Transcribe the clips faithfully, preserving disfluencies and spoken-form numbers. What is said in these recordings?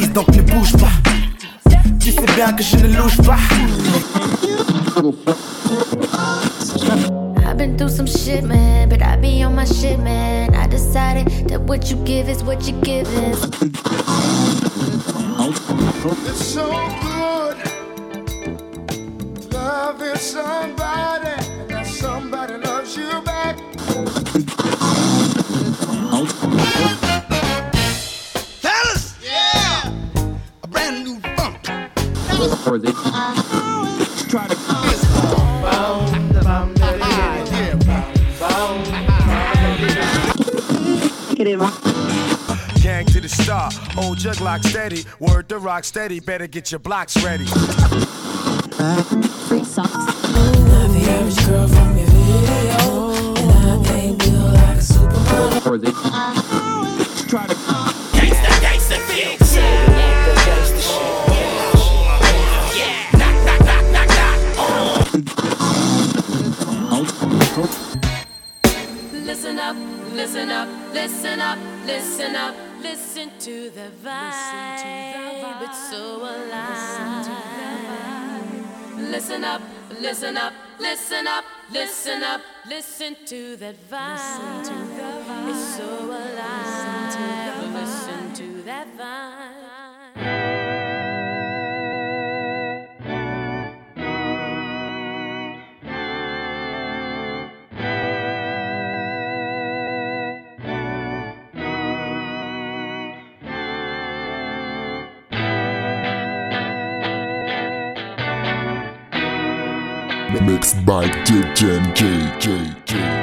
baisse donc ne bouge pas. Tu sais bien que je ne louche pas. I've been through some shit, man, but I be on my shit, man. I decided that what you give is what you give is. It's so good loving somebody, and that somebody loves you back. Fellas, yeah, a brand new funk. Try to gang to the star, hold your Glock steady. Word to rock steady, better get your blocks ready. Free socks. Not the average girl from your video, and I ain't built like a supermodel. Try to Gangsta, gangsta, fix it. Gangsta shit. Yeah, knock, knock, knock, knock, knock. Listen up, listen up, listen up, listen up, listen to the vibe. It's so alive. Listen up, listen up, listen up, listen up, listen to that vibe. It's so alive. Listen to that vibe. Mixed by J J J J J.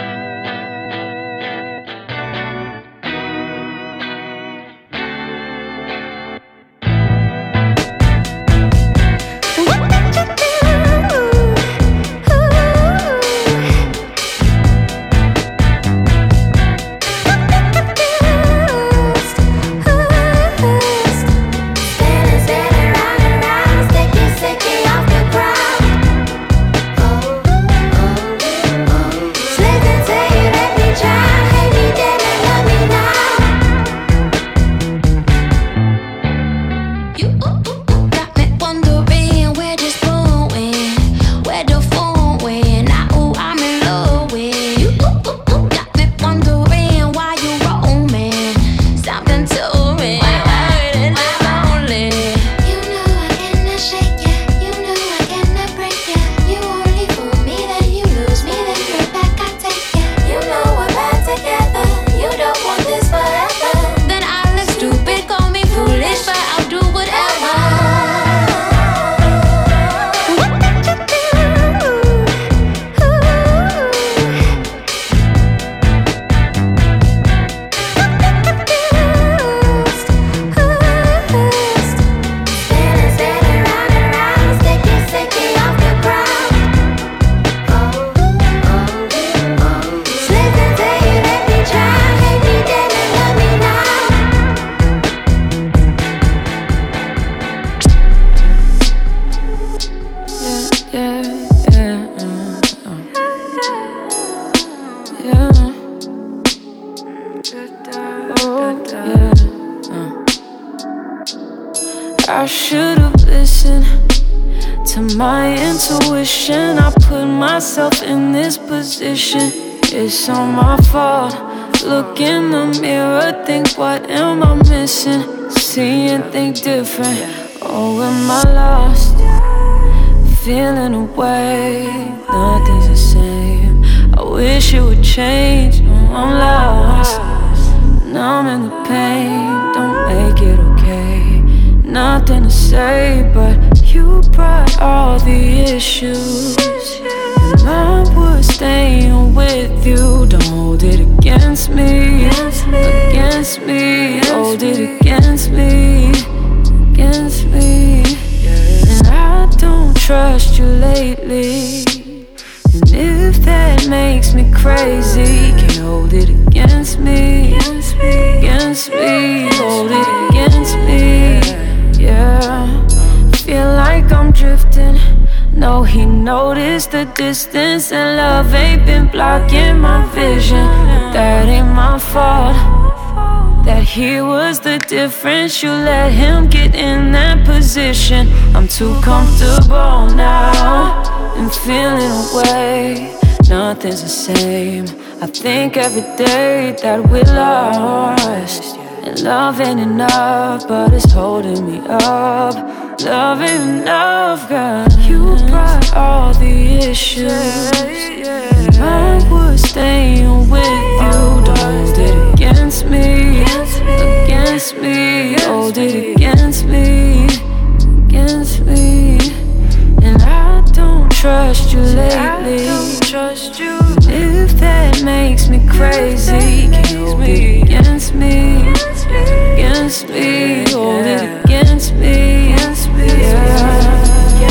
I should've listened to my intuition. I put myself in this position. It's all my fault. Look in the mirror, think what am I missing? See and think different. Oh, am I lost? Feeling away, nothing's the same. I wish it would change. No, I'm lost. Numb in the pain, don't make it okay. Nothing to say, but you brought all the issues, and I was staying with you. Don't hold it against me, against me. Hold it against me, against me. And I don't trust you lately. And if that makes me crazy, can't hold it against me, against me. Hold it against me. Yeah, feel like I'm drifting. No, he noticed the distance, and love ain't been blocking my vision. But that ain't my fault, that he was the difference. You let him get in that position. I'm too comfortable now and feeling away. Nothing's the same. I think every day that we lost. And love ain't enough, but it's holding me up. Love ain't enough, girl. You brought all the issues, and I was staying with you. Don't hold it against me, against me. Hold it against me, against me. And I don't trust you lately. If that makes me crazy, can you hold it against me, against me. Hold it against me, against me. Yeah.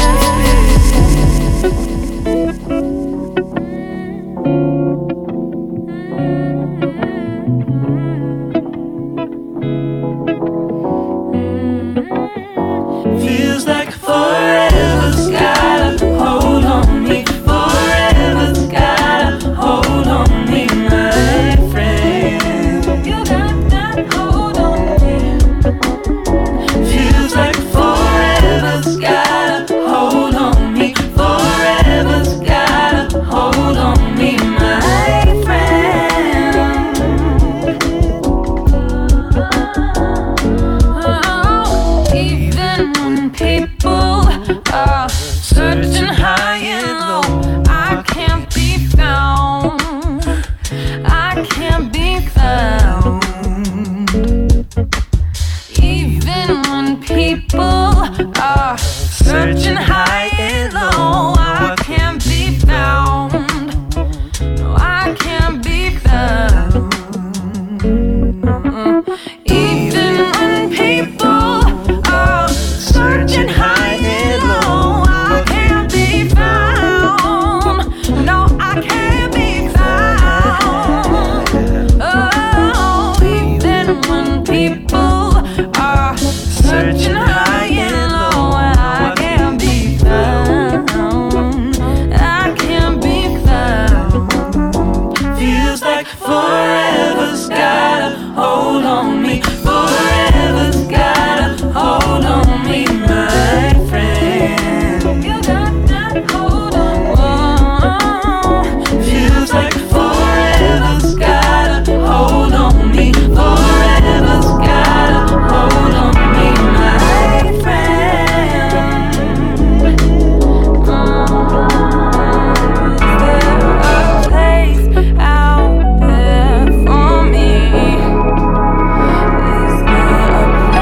Feels like forever's gotta hold on me. Forever's gotta hold on me, my friend. You got that hold on me. Feels like forever's gotta hold on me. Forever's gotta hold on me, my friend. Oh, even when people are searching high and low, I can't be found. I can't be found. Even when people are searching high and low, I can't be found. No, I can't be found. Even when people are searching high and low, I can't be found. No, I can't be found. Oh, even when people are searching high and low, I can't be found. I can't be found. Feels like forever's gotta hold on me. Forever's gotta hold on me, my friend. You got that hold on me. Feels like forever's gotta hold on me. Forever's gotta hold on me, my friend. Is there a place out there for me? Is there a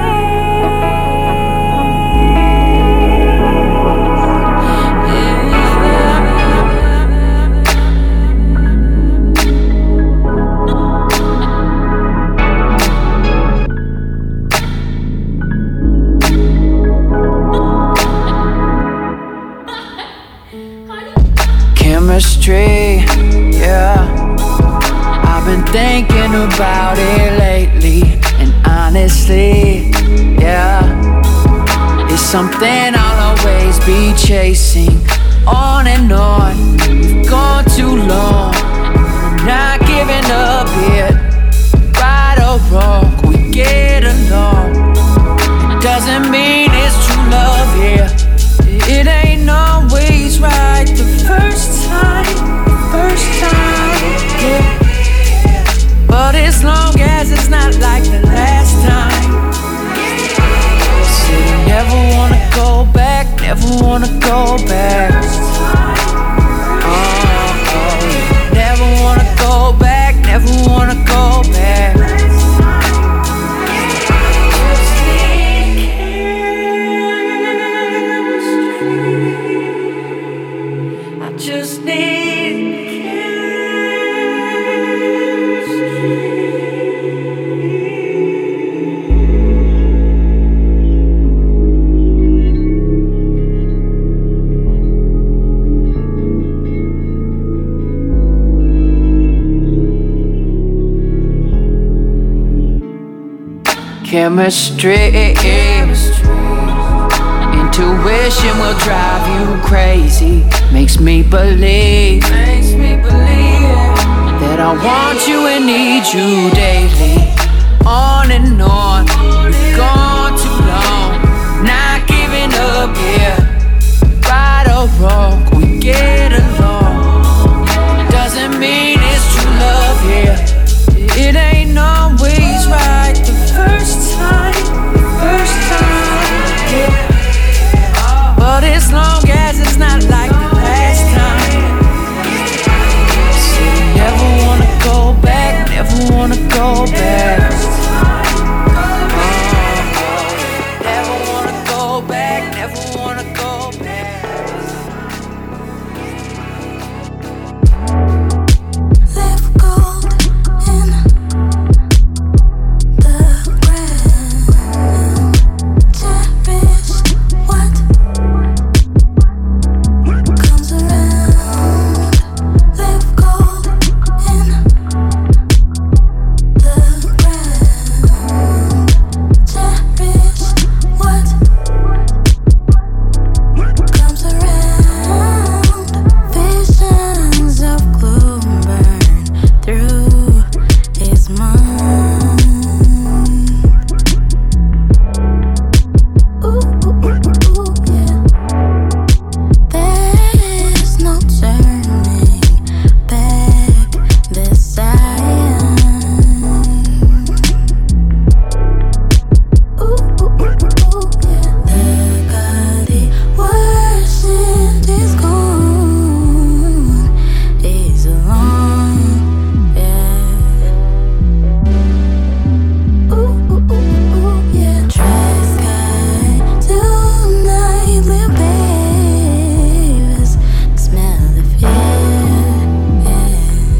Chemistry, yeah. I've been thinking about it lately, and honestly, yeah, it's something I'll always be chasing. On and on, we've gone too long. I'm not giving up yet. Right or wrong, we get along. It doesn't mean it's true love, yeah. It ain't always right the first time, first time, yeah. But as long as it's not like the last time, said I never wanna go back, never wanna go back. Oh, oh, never wanna go back, never wanna go back. Just need chemistry. Intuition will drive you crazy. Makes me believe, makes me believe that I want you and need you daily. on and on. We've gone too long, not giving up, yeah. Right or wrong, we get along. Doesn't mean it's true love, yeah. It ain't always right the first time, first time, yeah. But as long as it's not like the last time. So never wanna go back, never wanna go back. Never wanna go back, never wanna go back. Live gold in the ground. Cherish what comes around. Live gold in the ground. Cherish what comes around. Visions of gloom burn through his mind. Ooh, ooh, ooh, ooh, yeah. There's no turning back this time. Ooh, ooh, ooh, ooh, yeah. The God he worshipped is gone. He's alone, yeah. Ooh, ooh, ooh, ooh, yeah. Dry sky tonight, little babies smell the fear, yeah.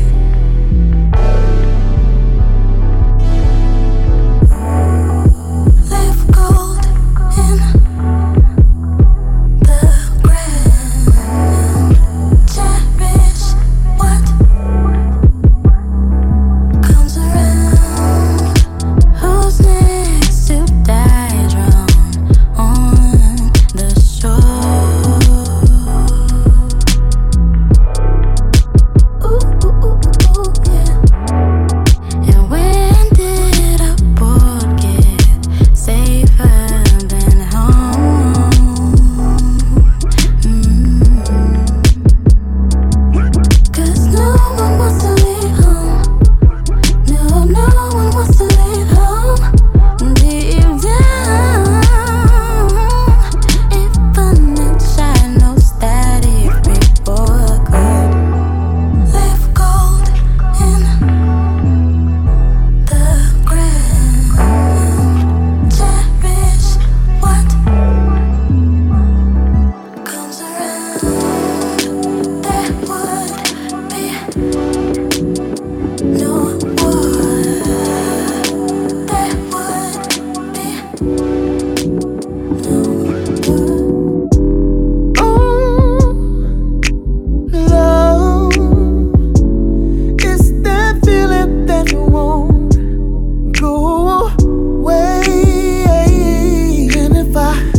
Live gold in the ground. Cherish what comes around. Who's next to die drowned on the shore? Ooh, ooh, ooh, ooh, yeah. And when did a boat get safer than home? Cause no one wants to leave home. No, no one wants to leave home. Deep down, if a night shine, no static report could live gold in the ground. Cherish what comes around. There would be no war. There would be no war. Love, it's that feeling that won't go away. And if I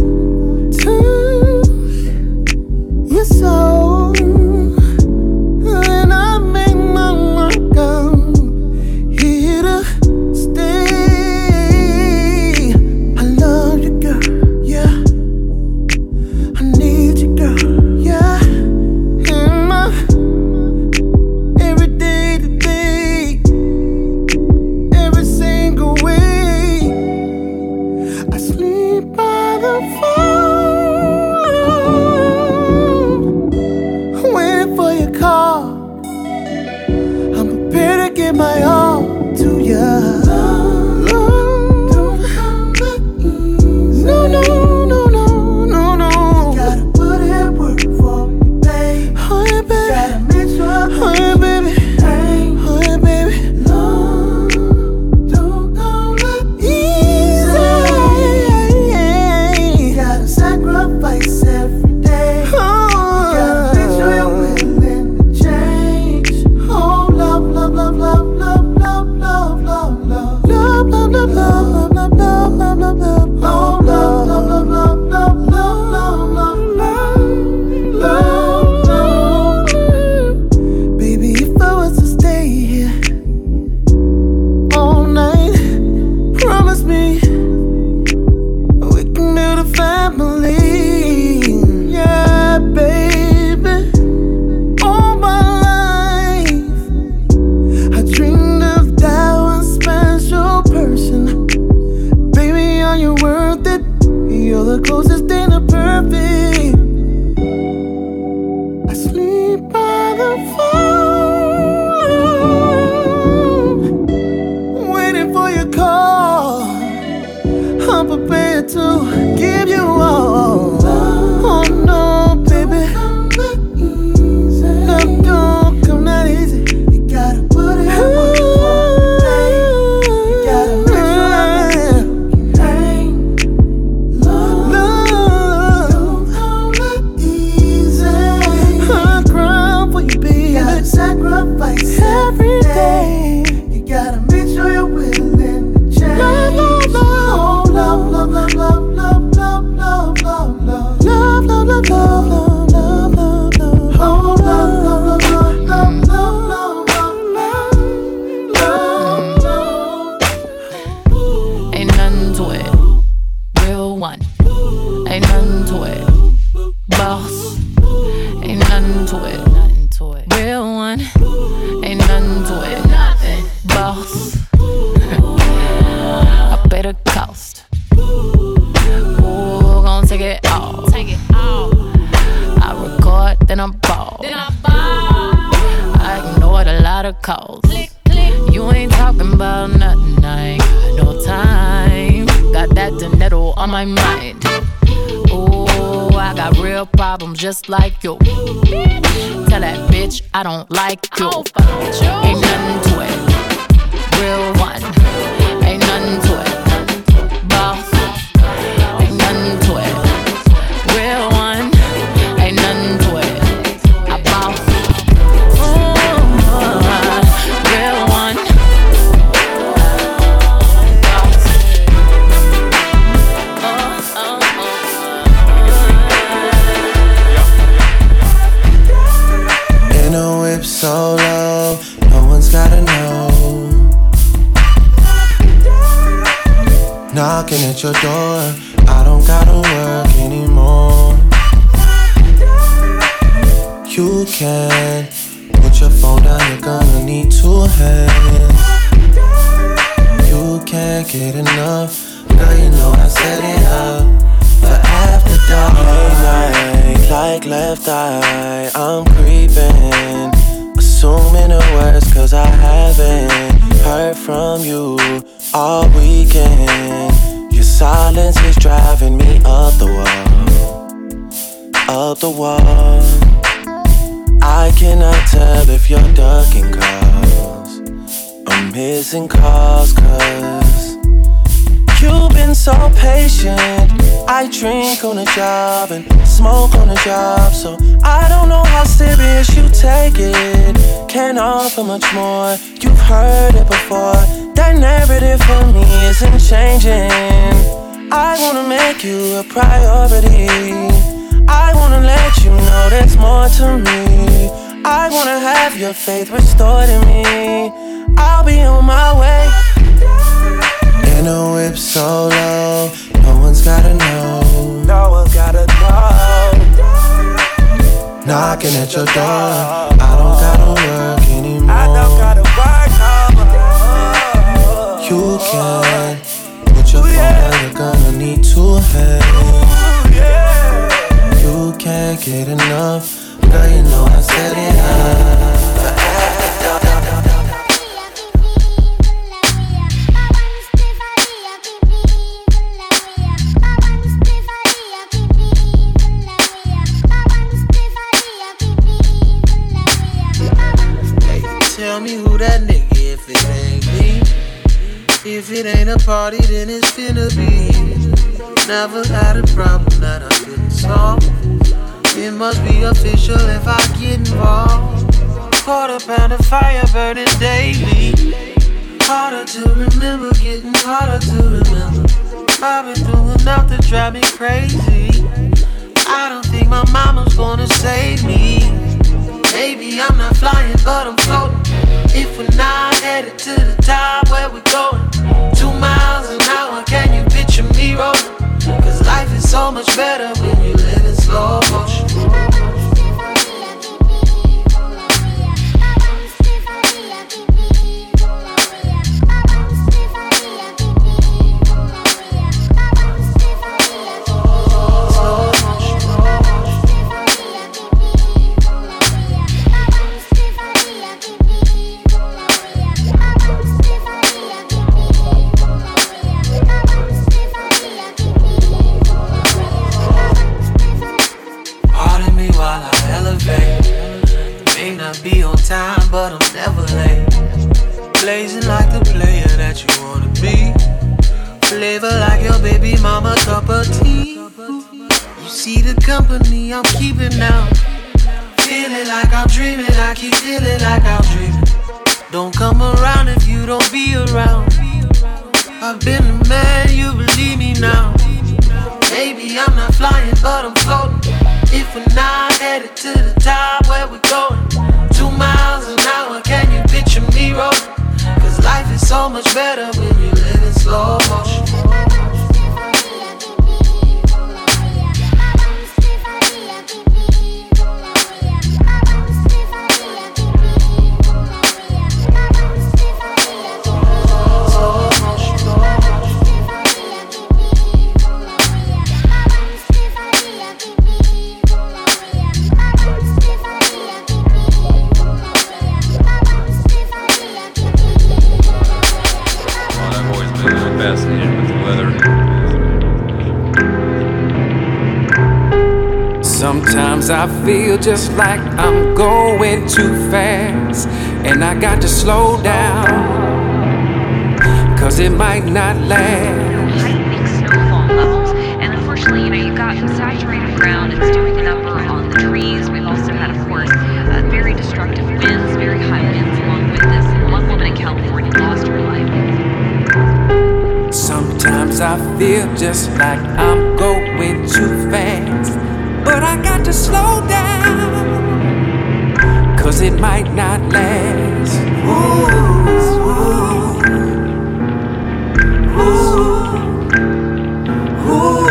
touch your soul, then I make my mark out here to stay. I love you, girl, yeah. I need you, girl, yeah. In my every day to day, every single way. I sleep by the phone, waiting for your call. I'm prepared to give my all to ya. No, no, no, no, no, no. Gotta put in work for you, babe. Oh yeah, baby. Gotta make sure. Oh yeah, baby. Oh yeah, baby. Love don't come easy. Gotta sacrifice every day. Gotta make sure you're willing to change. Oh, love, love, love, love, love, love, love, love, love. my mind. Oh, I got real problems just like you. Tell that bitch I don't like you. Ain't nothing to it. Real one. Ain't nothing to it. Boss. Ain't nothing to it. Real one. Ain't nothing to it. I boss. Ooh, real one. In a whip so low, no one's gotta know. Knocking at your door, I don't gotta work anymore. You can put your phone down, you're gonna need two hands. You can't get enough, girl, you know I set it up for after dark. Night, like left eye, I'm creeping, assuming the worst, cause I haven't heard from you all weekend. Your silence is driving me up the wall, up the wall. I cannot tell if you're ducking calls or missing calls, cause you've been so patient. I drink on the job and smoke on the job, so I don't know how serious you take it. Can't offer much more, you've heard it before. That narrative for me isn't changing. I wanna make you a priority. I wanna let you know there's more to me. I wanna have your faith restored in me. I'll be on my way. In a whip so low, no one's gotta know. No one's gotta know. Knocking at your door, I don't gotta work anymore. I don't gotta work no more. You can put your phone down, you're gonna need two hands. You can't get enough, girl, you know I set it up. Tell me who that nigga if it ain't me. If it ain't a party, then it's finna be. Never had a problem that I couldn't solve. It must be official if I get involved. Quarter pound of fire burning daily. Harder to remember, getting harder to remember. I've been through enough to drive me crazy. I don't think my mama's gonna save me. Maybe I'm not flying, but I'm floating. If we're not headed to the top, where we going? Two miles an hour, can you picture me rolling? Cause life is so much better when you live in slow motion. Be on time, but I'm never late. Blazing like the player that you wanna be. Flavor like your baby mama cup of tea. You see the company I'm keeping now. Feeling like I'm dreaming, I keep feeling like I'm dreaming. Don't come around if you don't be around. I've been the man, you believe me now. Maybe I'm not flying, but I'm floating. If we're not headed to the top, where we going? Two miles an hour, can you picture me rolling? Cause life is so much better when you live in slow motion. Sometimes I feel just like I'm going too fast, and I got to slow down, cause it might not last. Heightening snowfall levels, and unfortunately, you know, you've got saturated ground. It's doing a number on the trees. We've also had, of course, uh, very destructive winds, very high winds along with this. One woman in California lost her life. Sometimes I feel just like I'm going too fast, but I got to slow down, cause it might not last. Ooh, ooh, ooh,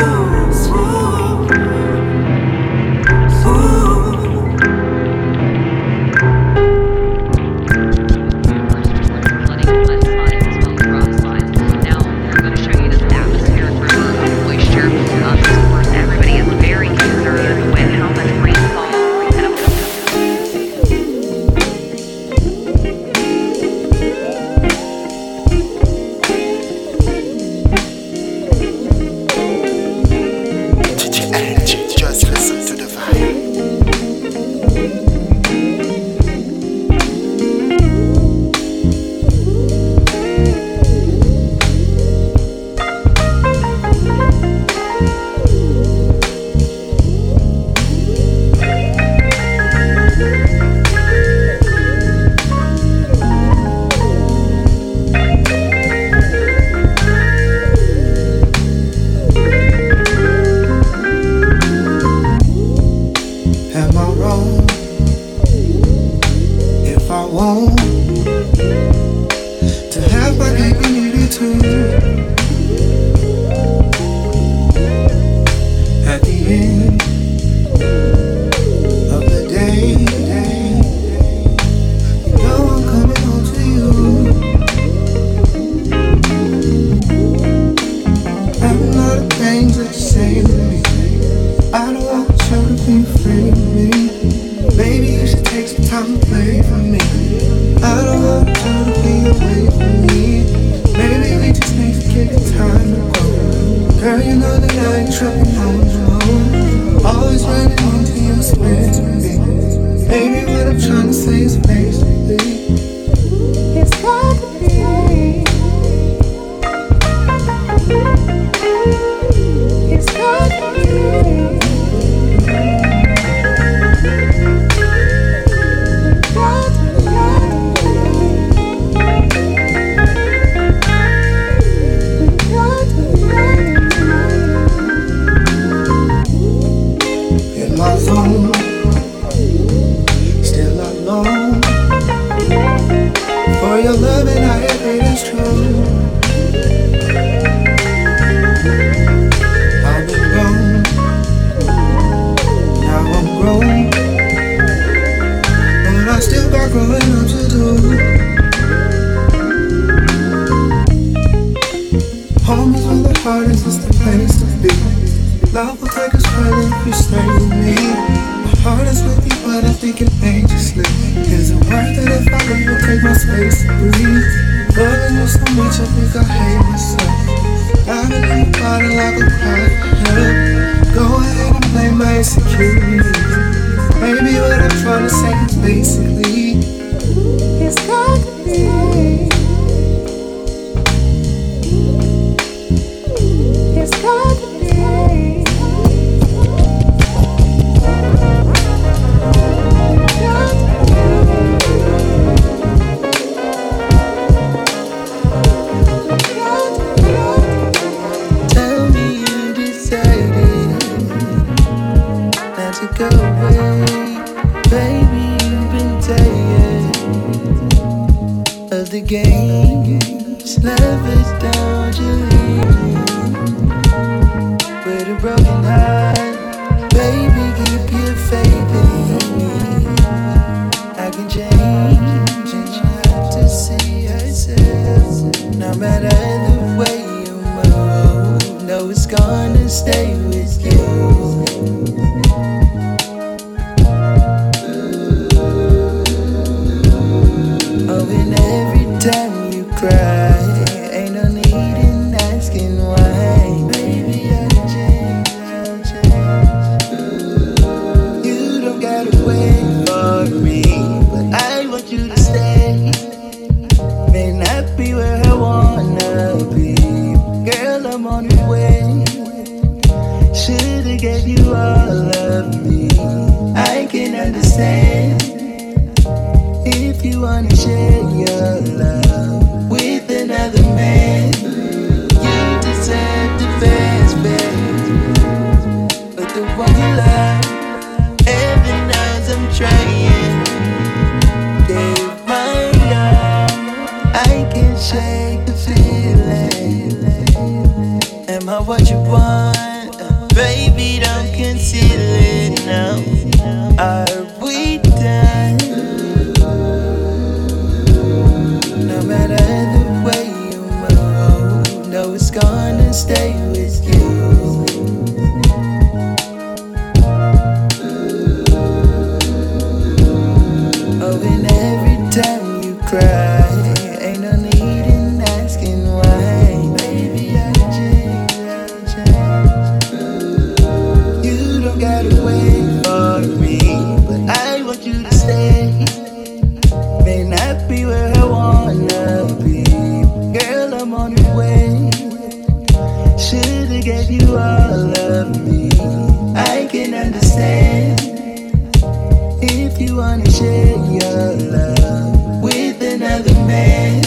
you wanna be. Girl, I'm on the way. Should've gave you all of me. I can understand if you wanna share your love with another man. You deserve the best, babe. But the one you love, heaven knows I'm trying. Gave my all, I can shake the feeling. Am I what you want? Baby, don't conceal it now. Are we done? No matter the way you move, no, it's gonna stay with you. Oh, and every time you cry, ain't no need in asking why. Baby, I change, I change. You don't gotta wait for me, but I want you to stay. May not be where I wanna be. Girl, I'm on the way. Should've gave you all of me. I can understand if you wanna share your love with another man.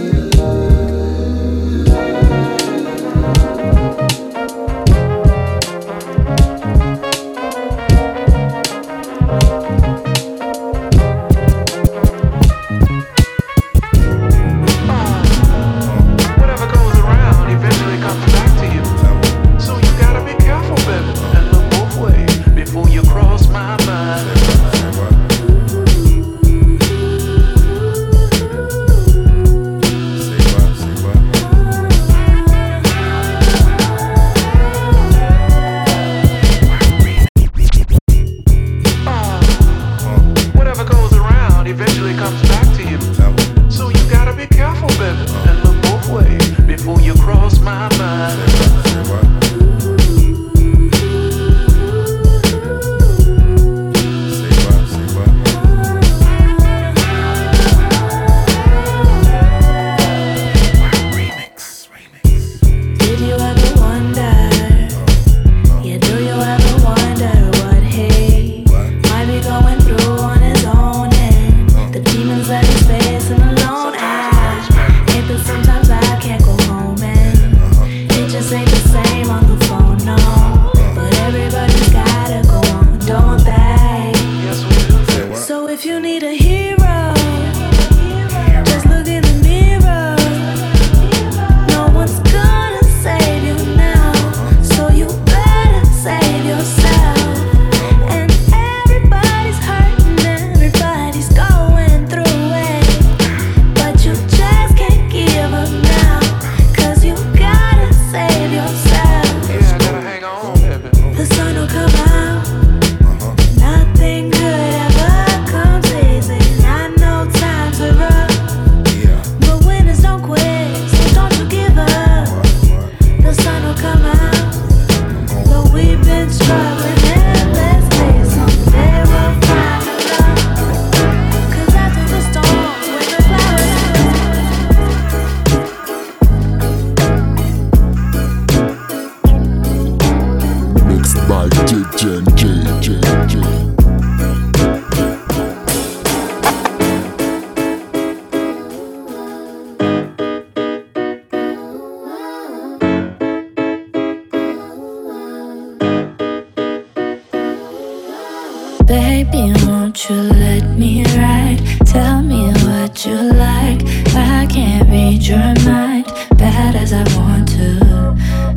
Baby, won't you let me ride? Tell me what you like. I can't read your mind, bad as I want to.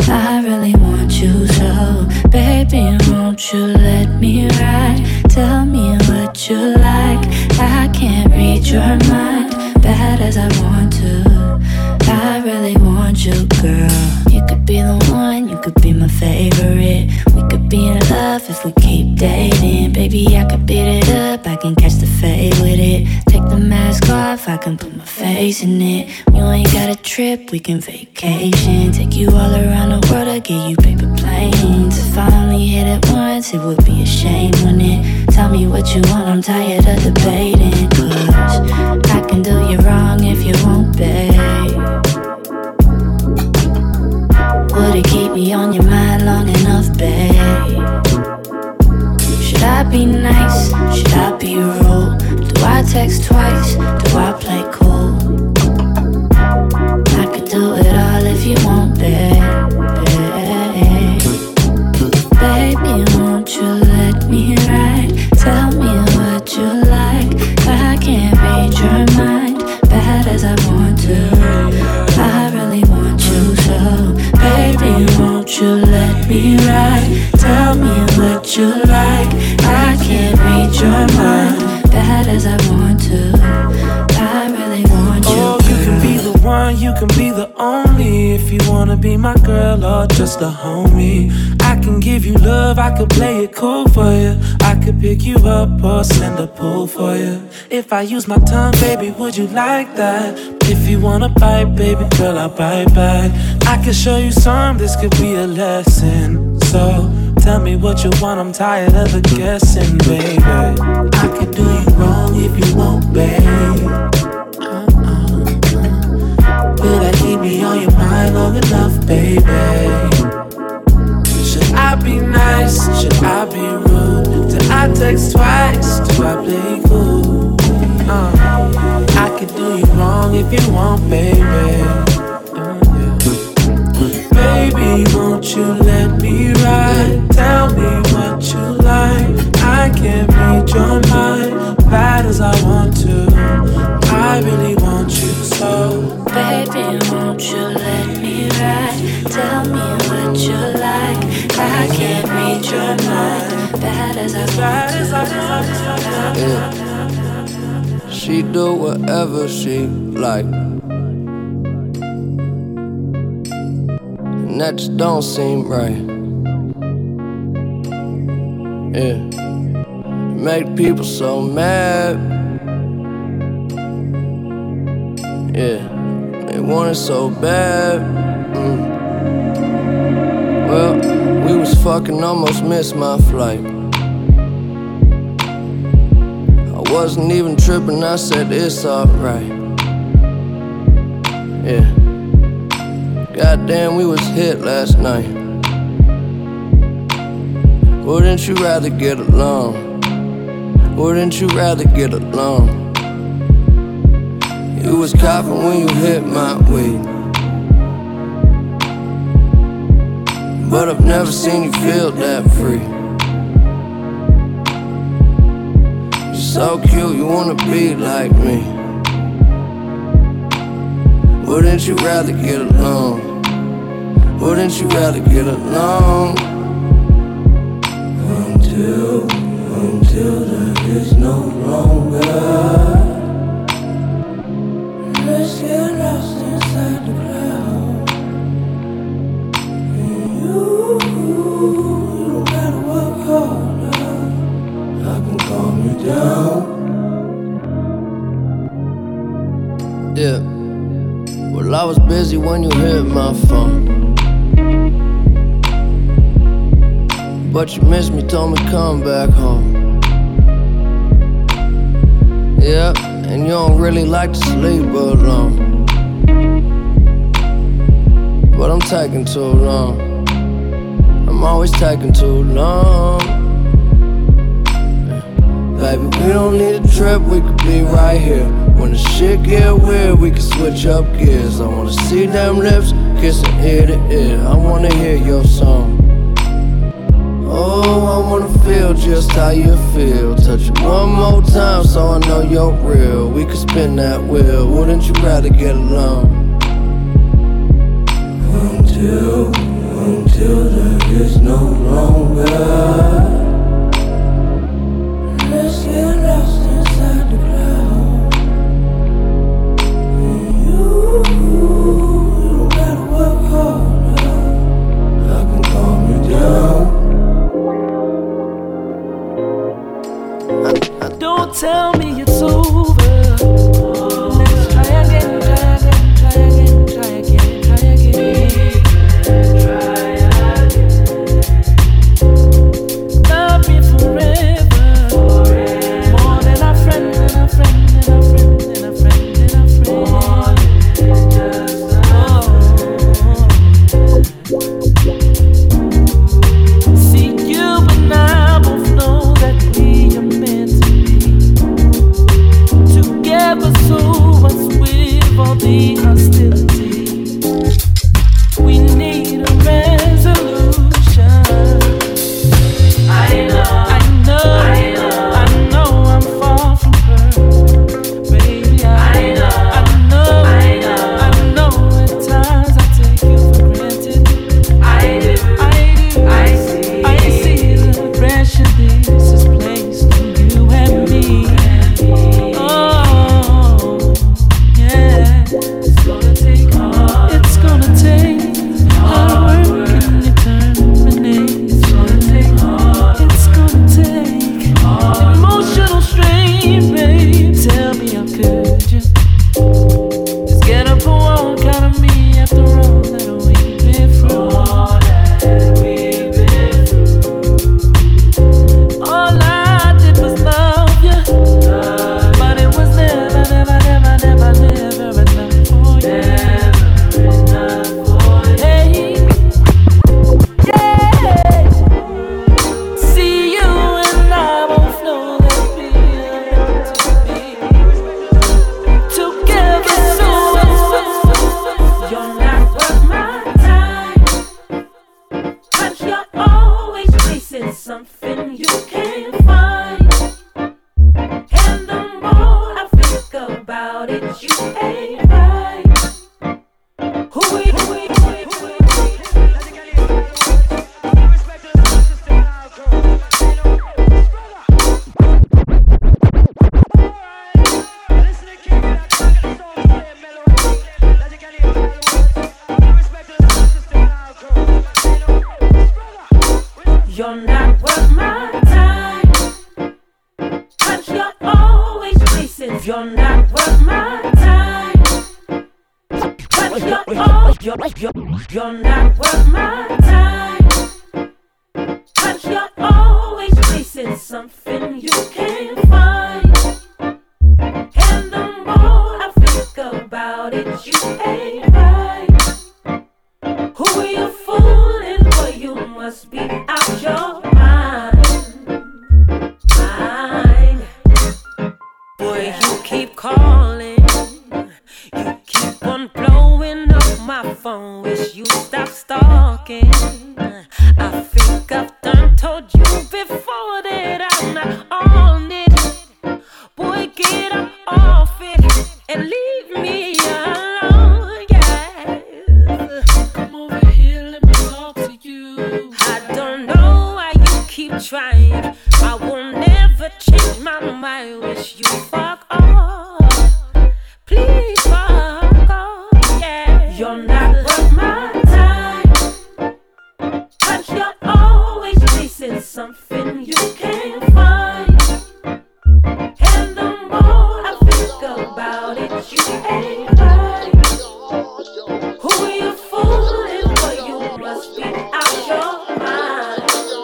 I really want you so. Baby, won't you let me ride? Tell me what you like. I can't read your mind, bad as I want to. I really want you, girl. You could be the one, you could be my favorite. We could be in love if we keep dating. Baby, I could beat it up, I can catch the fade with it. Take the mask off, I can put my face in it. You ain't got a trip, we can vacation. Take you all around the world, I'll get you paper planes. If I only hit it once, it would be a shame, wouldn't it? Tell me what you want, I'm tired of debating. Cause I can do you wrong if you won't, babe. you like. I can't read your mind, bad as I want to. I really want you. Oh, you can be the one, you can be the only. If you wanna be my girl or just a homie, I can give you love, I could play it cool for you. I could pick you up or send a pull for you. If I use my tongue, baby, would you like that? If you wanna bite, baby girl, I'll bite back. I can show you some, this could be a lesson. So tell me what you want, I'm tired of the guessing, baby. I could do you wrong if you won't, babe. Uh-uh. Will that keep me on your mind long enough, baby? Should I be nice? Should I be rude? Do I text twice? Do I play cool? Uh, I could do you wrong if you want, baby. Uh, yeah. Baby, won't you let me ride? Tell me what you like. I can't read your mind, bad as I want to. I really want you so. Baby, won't you let me ride? Tell me what you like. I can't read your mind, bad as I want to. Yeah. She do whatever she like, and that just don't seem right. Yeah, make people so mad. Yeah, they want it so bad. Mm. Well, we was fucking, almost missed my flight. I wasn't even tripping, I said it's alright. Yeah, goddamn, we was hit last night. Wouldn't you rather get along? Wouldn't you rather get along? You was coughing when you hit my weed, but I've never seen you feel that free. So cute, you wanna be like me. Wouldn't you rather get along? Wouldn't you rather get along? Until, until there is no longer. Let's get lost inside the cloud. And you, you don't gotta work hard. I can calm you down. Yeah. Well, I was busy when you hit my phone, but you missed me, told me come back home. Yeah, and you don't really like to sleep alone, but I'm taking too long. I'm always taking too long. Baby, we don't need a trip, we could be right here. When the shit get weird, we can switch up gears. I wanna see them lips, kissing ear to ear. I wanna hear your song. Oh, I wanna feel just how you feel. Touch it one more time so I know you're real. We could spin that wheel, wouldn't you rather get along? Until, until there is no longer. Let's get lost inside the cloud. And you, you don't gotta work hard. I can calm you down. Don't tell me it's over. Let's try again, try again, try You're not worth my time. But you're all, you're, you're, you're not worth my time. But you're always chasing something you can't find. And the more I think about it, you ain't right. Who are you fooling? Boy, you must be out your mind. Mind. Boy, you keep calling. You keep on blowing up my phone. Wish you stop stalking. I think I've done told you before that I'm not on it. Boy, get up off it and leave me alone, yeah. Come over here, let me talk to you. I don't know why you keep trying. I will never change my mind. Wish you fuck off. Please fuck off, yeah. You're not worth my time. But you're always chasing something you can't find. And the more I think about it, you ain't right. Who are you fooling? Boy, you must be out your mind.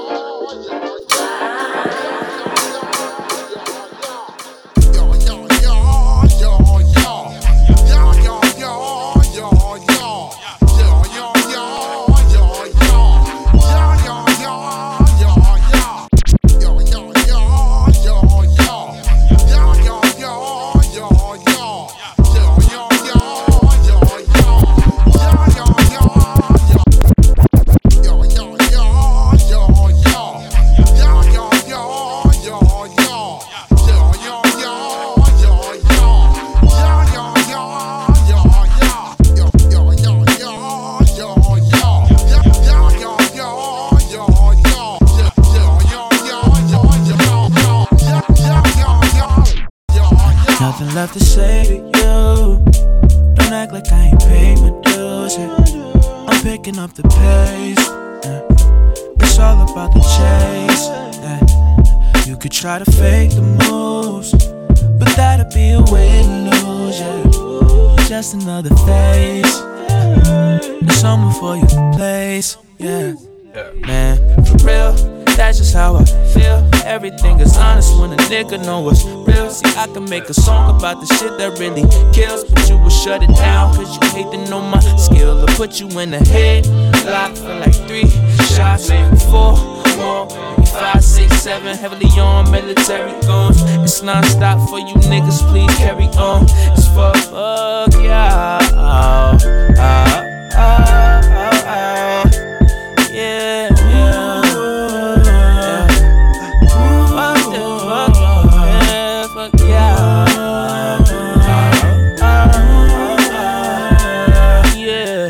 Nothing left to say to you. Don't act like I ain't paid my dues. Yeah. I'm picking up the pace. Yeah. It's all about the chase. Yeah. You could try to fake the moves, but that'd be a way to lose. Yeah. Just another phase. There's someone for your place. Yeah. Man, for real, that's just how I feel. Everything is honest when a nigga know what's real. See, I can make a song about the shit that really kills, but you will shut it down cause you hate to know my skill. I'll put you in the head lock for like three shots, four more, five, six, seven, heavily on military guns. It's non-stop for you niggas, please carry on. It's fuck, fuck, yeah, oh, oh, oh, oh, oh. Yeah, yeah, yeah. Fuck the fuck, yeah, fuck yeah. Yeah,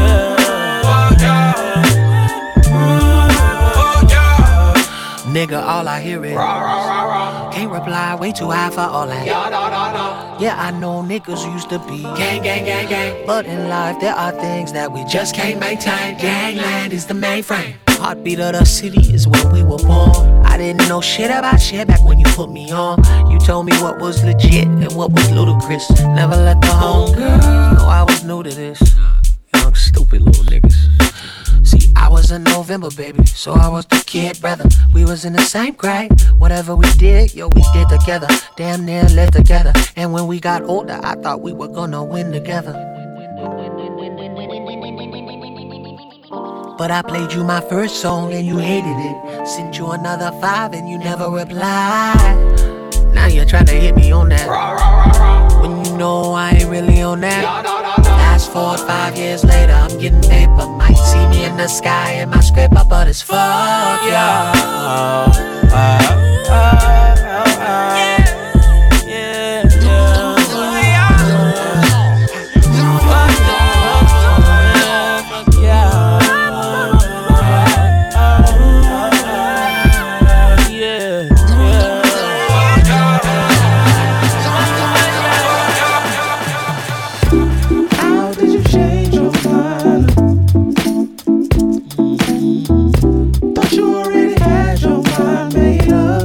yeah. Nigga, all I hear is can't reply, way too high for all that. Yeah, I know niggas used to be gang, gang, gang, gang, but in life there are things that we just can't maintain. Gangland is the mainframe. Heartbeat of the city is where we were born. I didn't know shit about shit back when you put me on. You told me what was legit and what was ludicrous. Never let the homegirl know I was new to this. Young stupid little niggas. See, I was a November baby, so I was the kid brother. We was in the same grade. Whatever we did, yo, we did together. Damn near lived together. And when we got older, I thought we were gonna win together. But I played you my first song and you hated it. Sent you another five and you never replied. Now you're trying to hit me on that, when you know I ain't really on that. Fast forward five years later, I'm getting paper. Might see me in the sky in my scraper, but it's fuck yeah. Oh, oh, oh, oh, oh. Thought you already had your mind made up.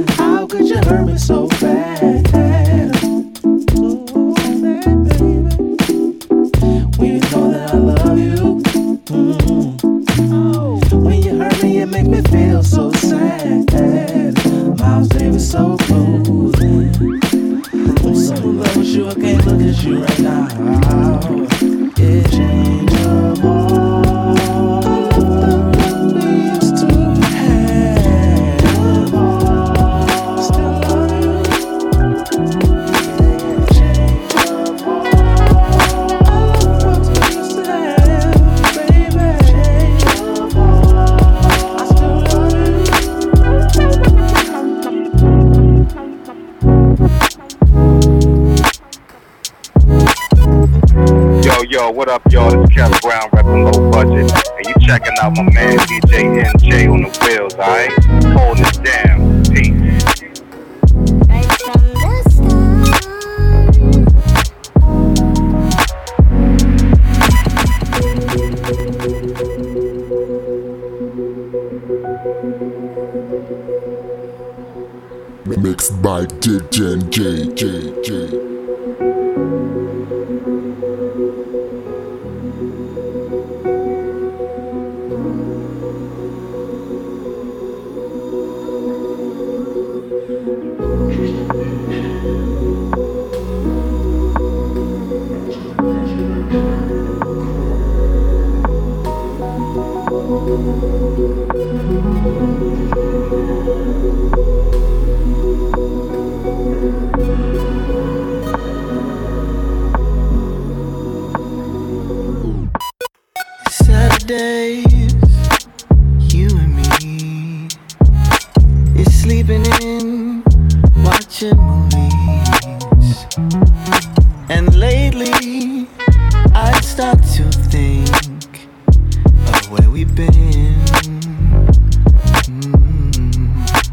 How could you hurt me so bad? Ooh, baby, when you know that I love you. Mm. When you hurt me, it make me feel so sad. Miles Davis so cool. I'm so in love with you, I can't look at you right now. Yeah, change of heart. We used to have. Still love you. Yeah, change of heart. All the problems we used to have, baby. Change of heart. I still love you. Yo, yo, what up, y'all? This is Kevin Brown, reppin' Low Budget. And you checking out my man D J N J on the wheels, alright? Holding it down. Peace. Mixed by D J N J, J, J. Saturdays, you and me is sleeping in, watching movies. And lately, I start to think of where we've been. Mm.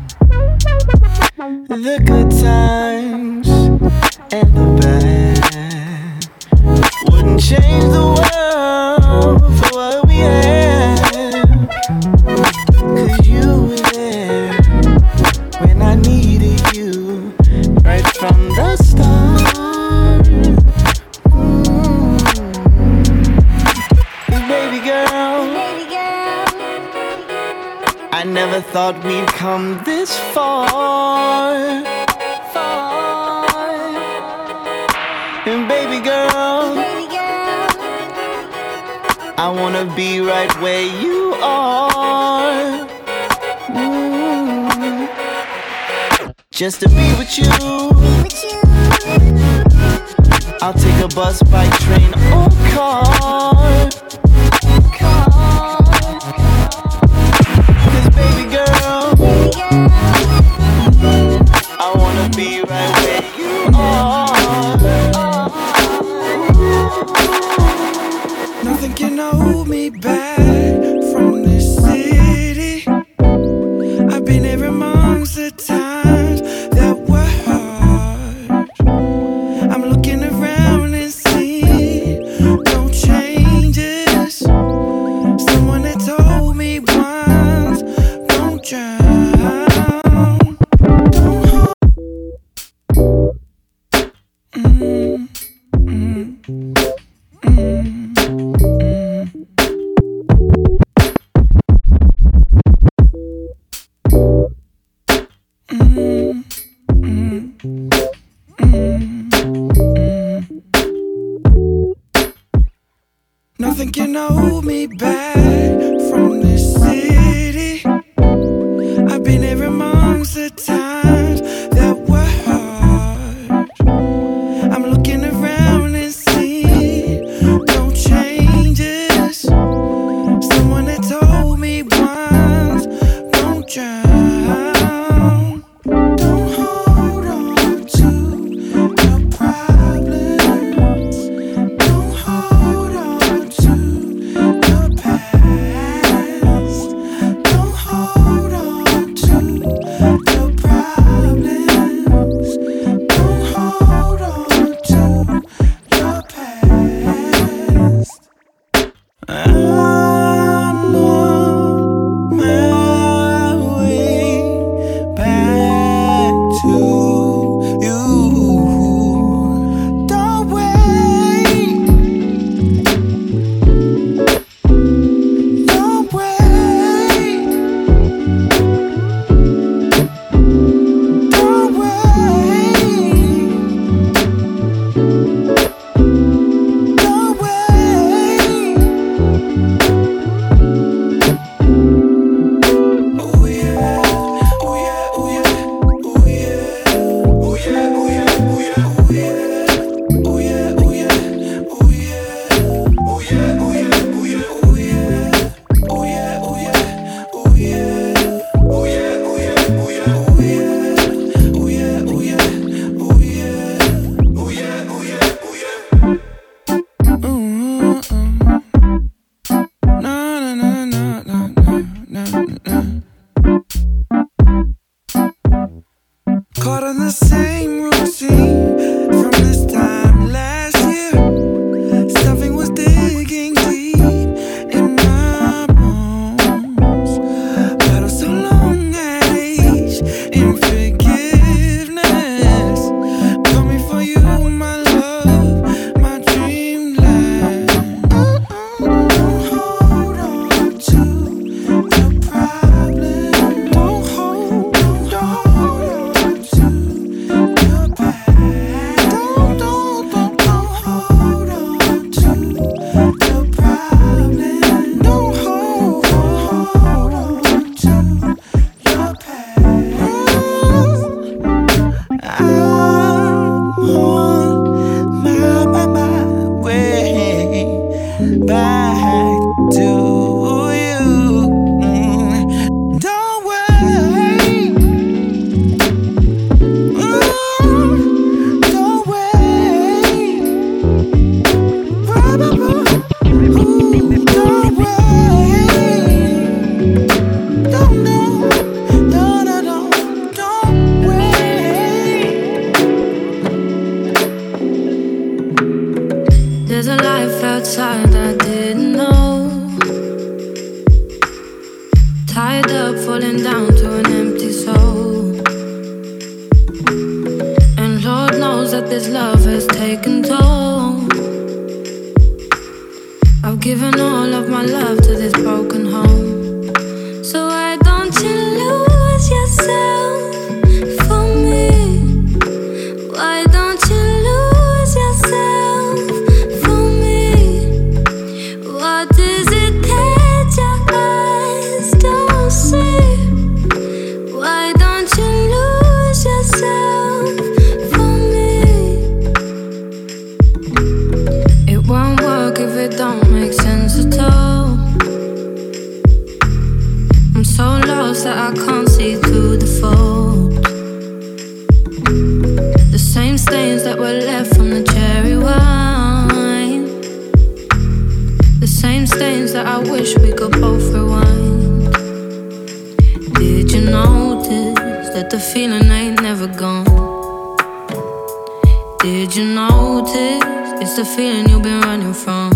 The good times and the bad wouldn't change the world for what we had. Cause you were there when I needed you, right from the start. Mm. Baby girl, I never thought we'd come this far. And baby girl, I wanna be right where you are. Mm. Just to be with you. I'll take a bus, bike, train, or car. Cause baby girl, I wanna be right where you are. Nothing can hold me back from this city. I've been here amongst the times that were hard. I'm looking around and see no changes. Someone that told me once, don't drown. Don't hold. Mm, mm, mm. Nothing can hold me back from this city. I've been here amongst the times that were hard. I'm looking around and see no changes. Someone that told me once, don't drown. Don't hold on to your problems. Don't hold on to your past. Caught in the same routine from this time last year. Something was digging deep in my bones. Battled so long at age in forgiveness. Coming for you, my love, my dreamland. Don't hold on to your problem. Don't hold, don't hold on to your past. Don't, don't, don't, don't hold on to your problem. Don't hold, hold on to your past. I'm on my, my, my way back to you. Mm, Don't wait. Mm, Don't wait. Ooh, don't wait. Don't, no, no, no, no, don't wait. There's a life outside I didn't know. Tied up, falling down to an empty soul. And Lord knows that this love has taken toll. I've given all of my love to this broken home. So why don't you lose yourself for me? Why don't you lose yourself for me? What is it that your eyes don't see? Why don't you lose yourself for me? It won't work if it don't make sense at all. I'm so lost that I can't see through the fold. The same stains that were left from the cherry wine. The same stains that I wish we could both rewind. Did you notice that the feeling ain't never gone? Did you notice it's the feeling you've been running from?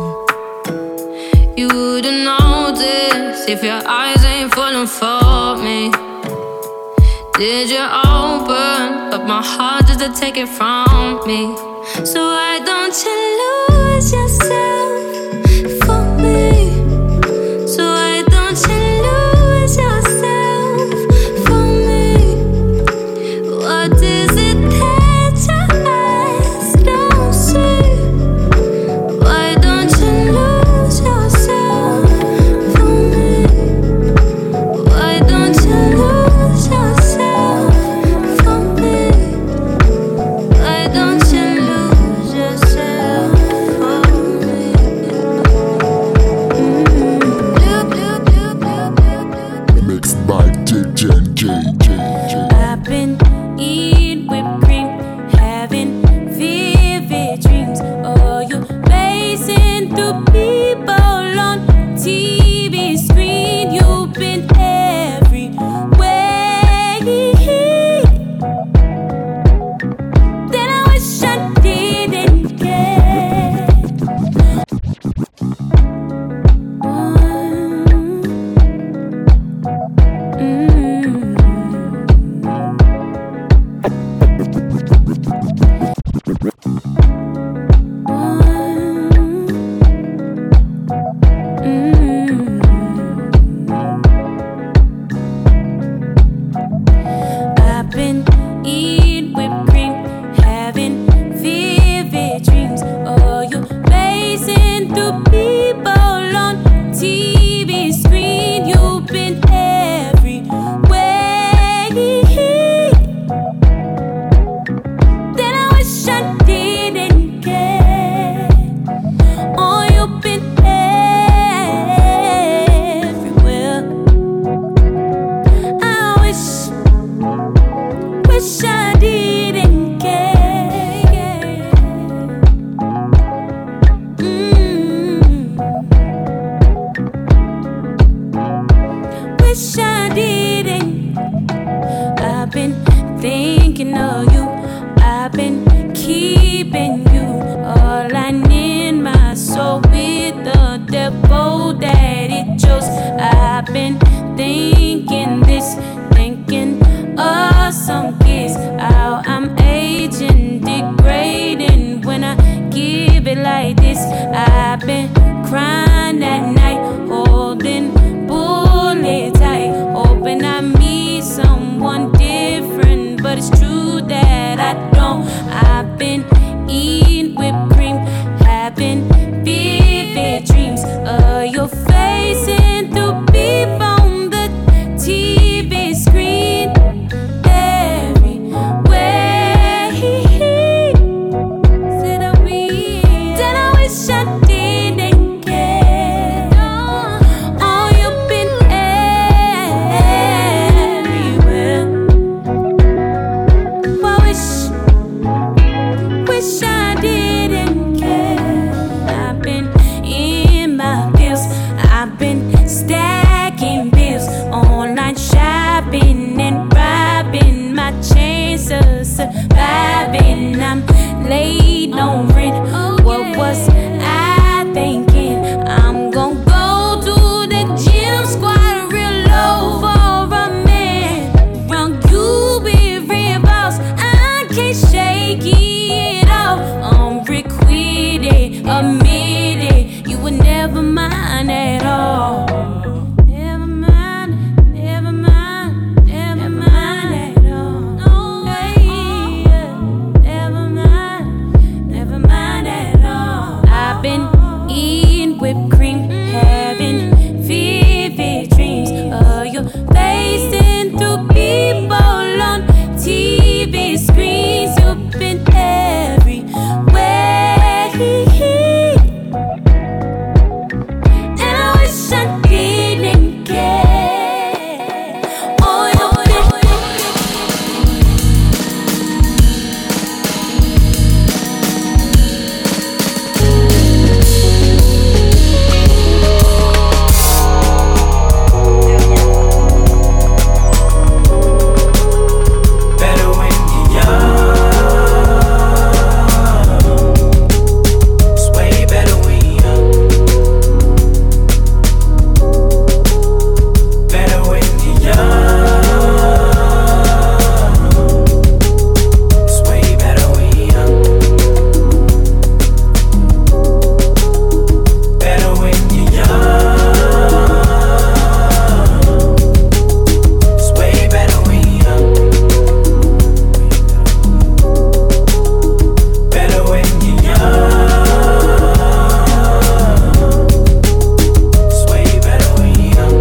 You wouldn't notice if your eyes ain't falling for me. Did you open up my heart just to take it from me? So why don't you lose yourself for me? So why don't you lose yourself for me? What is it that your eyes don't see? Why don't you lose yourself for me? Why don't you lose yourself for me? Why don't you lose yourself for me? Mixed by D J J J J. I've been eating whipped cream, having vivid dreams. Oh, you racing through people on T V screen. You've been everywhere. Then I wish I didn't care. I've been eating whipped cream, having vivid dreams. Oh, you racing through people on T V screen. You've been everywhere. Then I wish I didn't care. Oh, you've been everywhere. I wish, wish I didn't care. Mm. Wish I didn't. I've been thinking. thinking of you. I've been keeping you all I need, my soul with the devil that it chose. I've been thinking this, thinking of some kids, how I'm aging, degrading when I give it like this. I've been crying at night, holding bullet tight, hoping I meet someone different, but it's true that I don't. I've been eating whipped cream, having vivid dreams of your face and through people on the T V screen. Everywhere said I wish, said I wish I didn't care. Oh, you've been everywhere. I wish, wish I didn't care. I've been in my bills, I've been stacking bills, online shopping and robbing my chance of surviving. I'm late on rent. What was I thinking? I'm gon' go to the gym, squat real low for a man. Young, you be real boss, I can't shake it off. I'm requited, admit it, you would never mind at all. Never mind, never mind, never mind at all. No way, never mind, never mind at all. I've been eating whipped cream, having vivid dreams of your face and through people on T V screens. You've been everywhere, and I wish I didn't care. Oh, you've been Better when you're young. It's way better when you're young. Better when you're young. It's way better when you're young. Better when you're young. It's way better when you're young. Better when you're young. It's way better when you're young.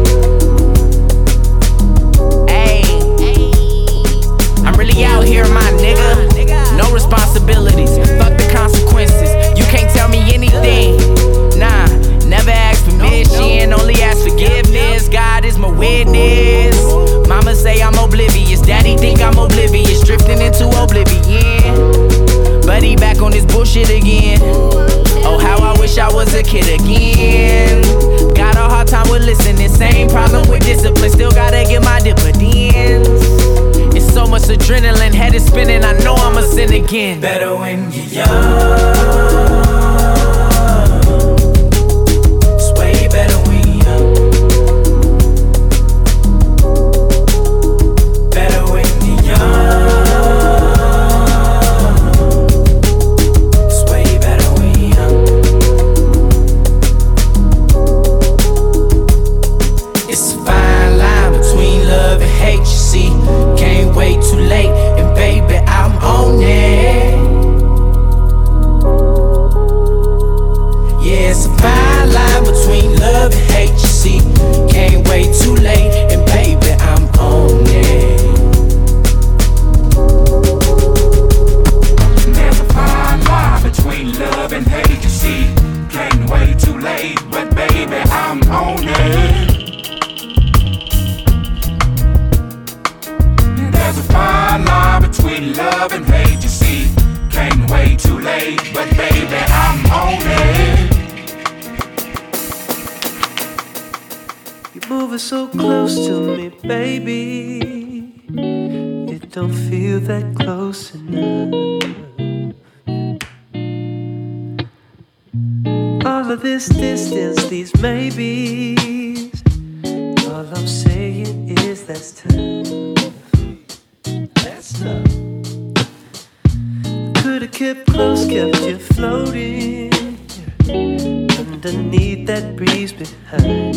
Ayy, I'm really out here, my nigga. No responsibilities, fuck the consequences. You can't tell me anything. Nah, never ask permission, only ask forgiveness. God is my witness. Mama say I'm oblivious, daddy think I'm oblivious, drifting into oblivion. But he back on this bullshit again. Oh, how I wish I was a kid again. Got a hard time with listening, same problem with discipline. Still gotta get my dividends. It's so much adrenaline, head is spinning, I know I'ma sin again. Better when you're young. It's way better when you're young. Better when you're young. It's way better when you're young. It's a fine line between love and hate, you see. Can't wait too late, and baby, I'm on it. Yeah, it's a fine line between love and hate, you see. Can't wait too late, and baby, I'm on it. There's a fine line between love and hate, you see. Can't wait too late, but baby, I'm on it. There's a fine line between love and hate, you see. Can't wait too late, but baby, I'm on it. You're moving so close to me, baby. It don't feel that close enough. All of this distance, these maybes, all I'm saying is that's tough. That's tough. Could've kept close, kept you floating underneath that breeze behind.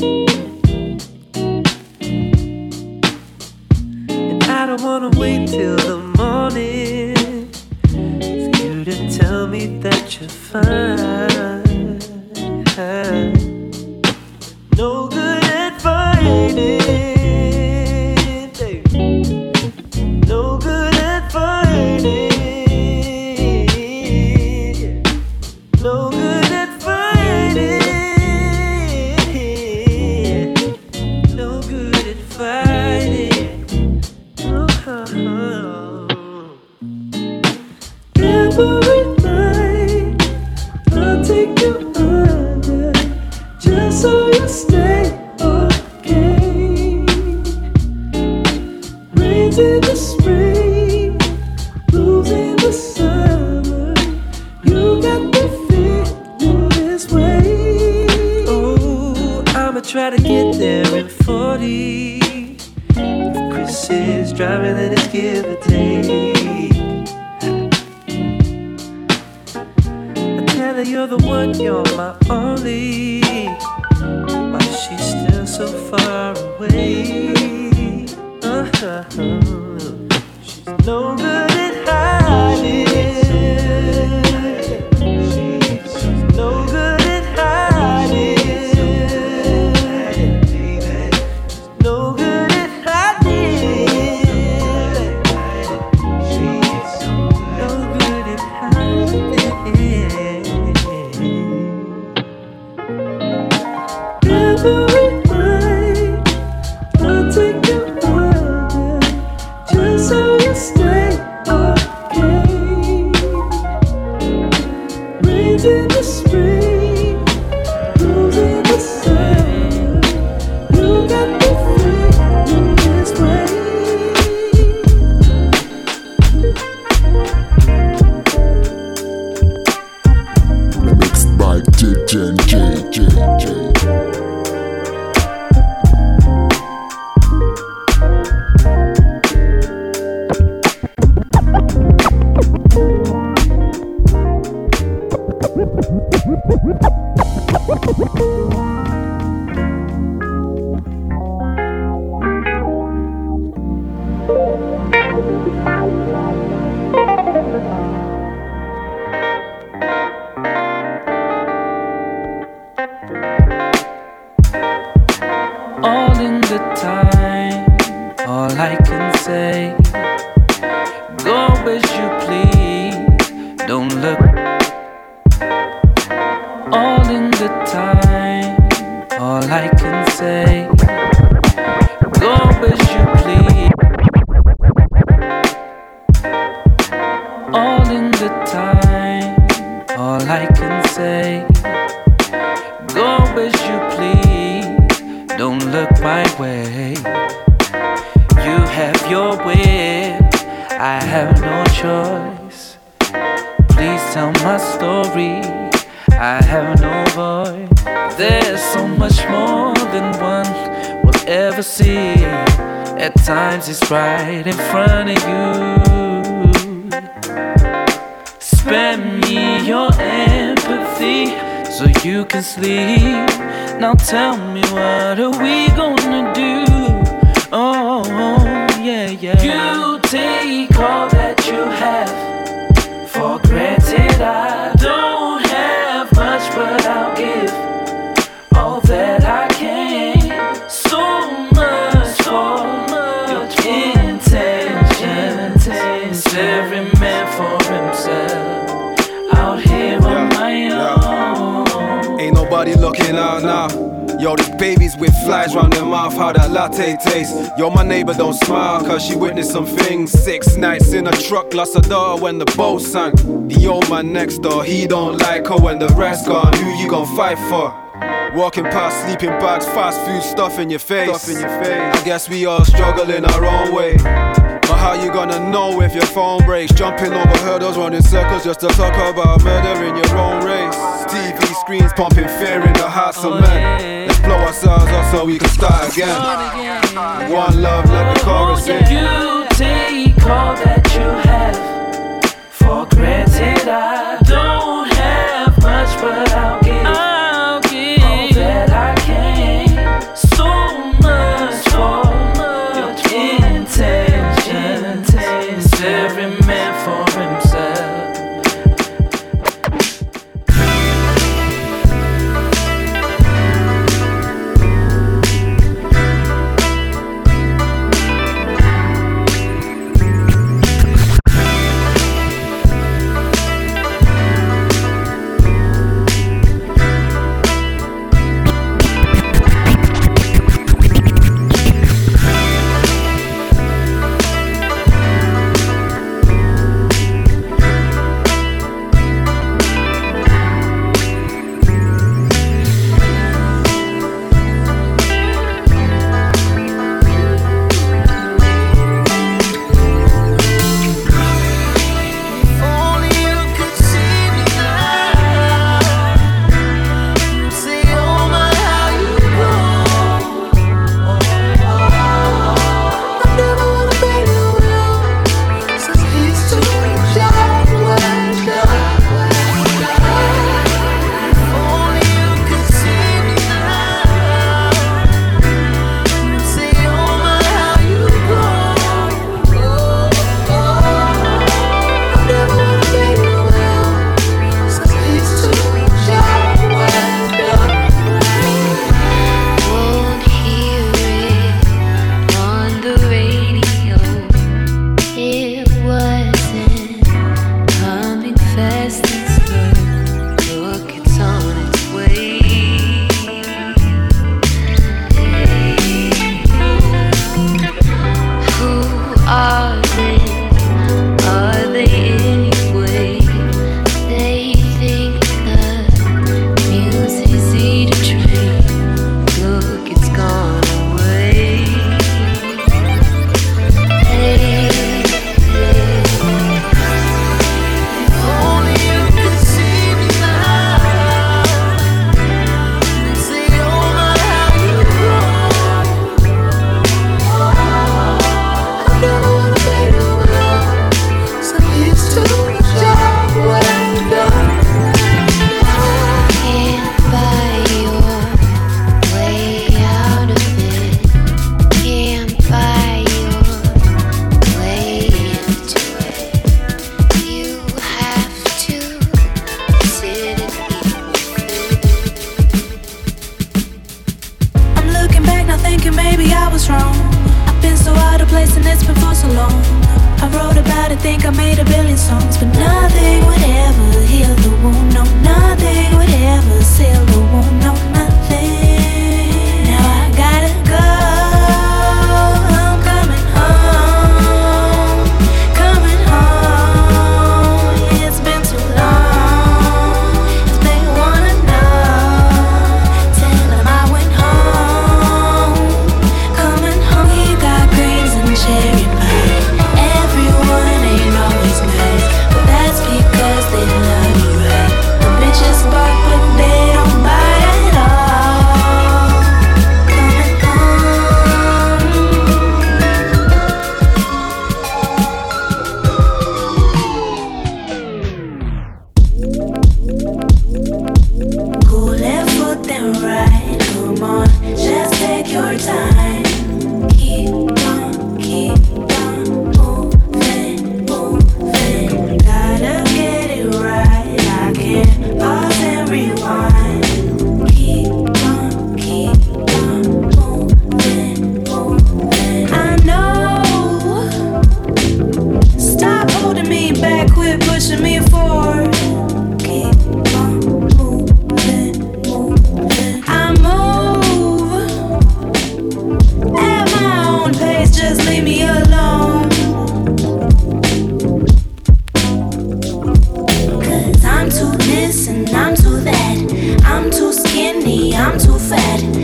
And I don't wanna wait till the morning for you to tell me that you're fine. No good at fighting, baby. No good at fighting. No good at fighting. No good at fighting. Oh. Every night I'll take you under, just so you stay okay. Rains in the spring, blues in the summer. You got me feeling this way. Oh, I'ma try to get there in forty. If Chris is driving, then it's give or take. I tell her you're the one, you're my only. Why is she still so far away? Uh-huh. She's no good at hiding. She's no good at hiding. She's no good at hiding. She's no good at hiding. Every night I'll take you under, just so you stay okay. Rains in the spring, blues in the summer. You got me feeling this way. Mixed by D J J J J. All in the time, all I can say, go as you please, don't look. All in the time, all I can say, go as you please. All in the time, all I can say, go as you please, don't look my way. You have your way, I have no choice. Please tell my story, I have no voice. There's so much more than one will ever see. At times it's right in front of you. Spare me your empathy so you can sleep. Now tell me, what are we gonna do? Oh, yeah, yeah. You take all that you have for granted. I don't have much, but I'll give all that I can. So much for your intentions. Every man for himself, out here on my own. Ain't nobody looking out now. Yo, the babies with flies round their mouth, how that latte tastes. Yo, my neighbor don't smile, cause she witnessed some things. Six nights in a truck, lost her daughter when the boat sank. The old man next door, he don't like her when the rest gone. Who you gon' fight for? Walking past sleeping bags, fast food stuff in your face. Stuff in your face. I guess we all struggle in our own way. But But how you gonna know if your phone breaks? Jumping over hurdles, running circles just to talk about murder in your own race. T V screens pumping fear in the hearts of men. Let's blow ourselves up so we can start again. One love, let the chorus in. You take all that you have for granted. I don't have much, but I'll give, I'll give all that I can. So much for your intentions. It's every man for himself.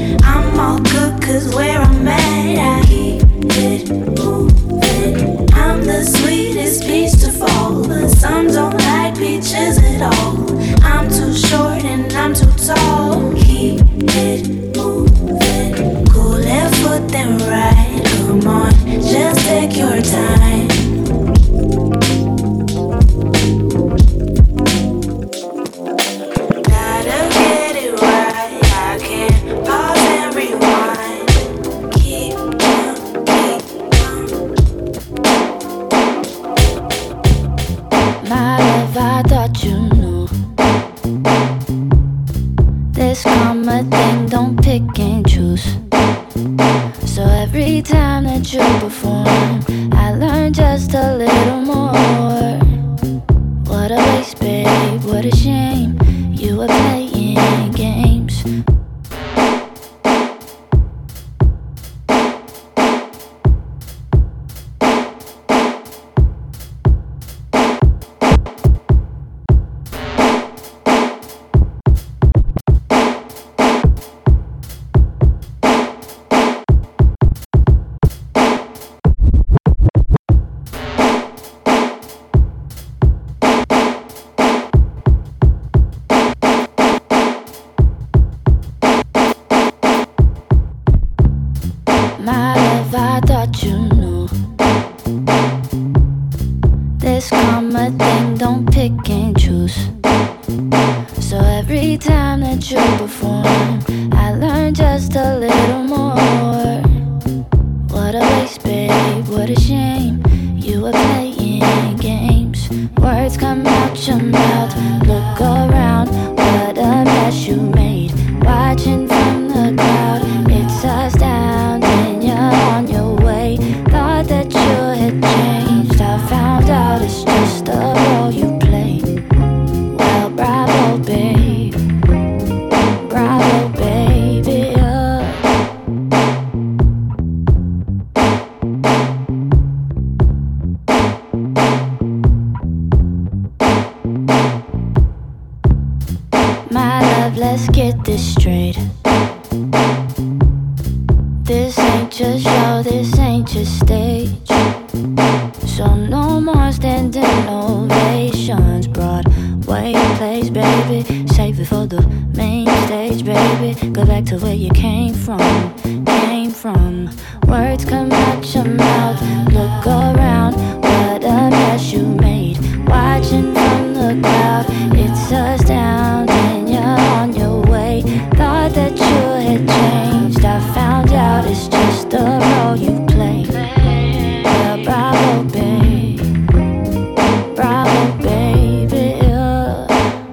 Cause where I'm at, I keep it moving. I'm My love, I thought you knew. This karma thing, don't pick and choose. So every time that you perform, I learn just a little more. What a waste, babe, what a shame. You were playing games. My love, I thought you knew. This karma thing, don't pick and choose. So every time that you perform, I learn just a little more. What a waste, babe, what a shame. You were playing games. Words come out your mouth, look around, what a mess you made. Watching from the crowd, it's astounding. You're on your way, thought that you had changed. I found out it's just a role you played. Well, bravo, babe, bravo, baby, oh. My love, let's get this straight. This ain't just show, this ain't just stage. So no more standing ovations. Broadway plays, baby, save it for the main stage, baby. Go back to where you came from, came from. Words come out your mouth, look around, what a mess you made. Watching from the crowd, it's astounding. You're on your way, thought that you had changed. I found out it's just a role you play. Well, bravo, babe, bravo, baby, oh.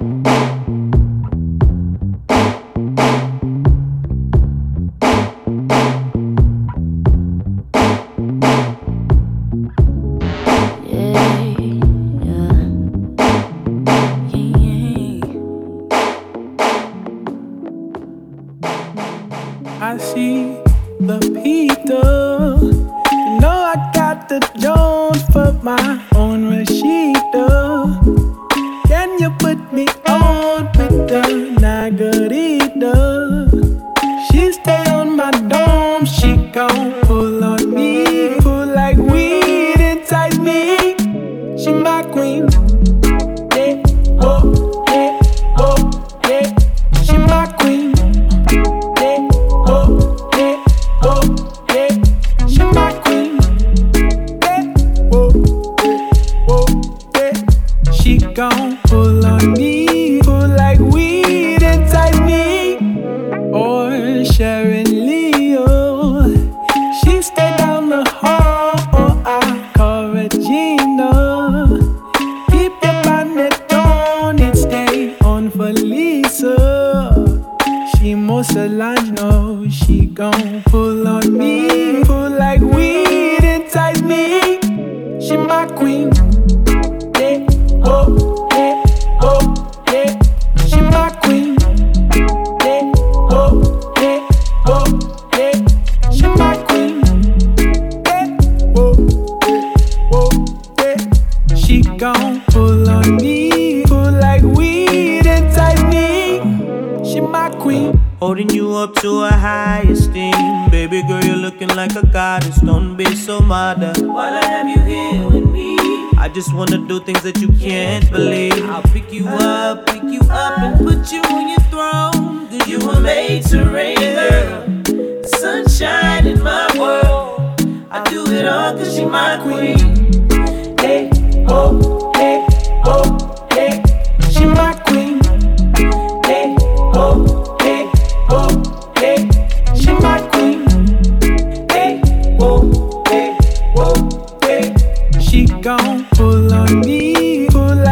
I see the Peter. You know I got the Jones for my own Rashida. Can you put me on with the Nagarita? She stay on my dome, she gon' pull on me, pull like weed, entice me. She my queen. Yeah, oh, yeah, oh, yeah. She my queen. Gon' pull on me, pull like weed, entice me. Or Sharon Leo, she stay down the hall, or I call Regina. Keep your bonnet on, it stay on for Lisa. She more Solange, no, she gon' pull on me, pull like weed, entice me. She my queen. Oh, yeah, oh, yeah, she my queen. Yeah, oh, yeah, oh, yeah, she my queen. Yeah, oh, yeah, oh, yeah, she gon' pull on me, pull like weed, entice me. She my queen. Holding you up to a high esteem. Baby girl, you're looking like a goddess. Don't be so modern. While I have you here with me, I just wanna do things that you can't believe. I'll pick you up, pick you up and put you on your throne. Cause you were made to reign, girl. Sunshine in my world. I do it all cause she my queen. Hey, oh, hey, oh, hey, she my queen. Hey, oh, hey, oh, hey, she my queen. Hey, oh, hey, oh, hey, she gon' pull on me, pull